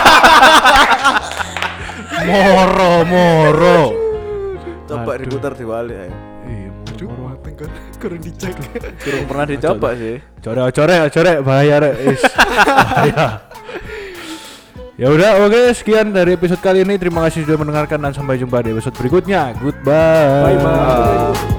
Moro moro. Coba Aduh. diputar diwalik ayo. Iya, Aduh, moro. mateng kan kurang dicek. Kurang pernah dicoba sih. Corek corek corek bahaya rek. Is. Bahaya. Ya udah, oke, sekian dari episode kali ini. Terima kasih sudah mendengarkan dan sampai jumpa di episode berikutnya. Goodbye. Bye bye.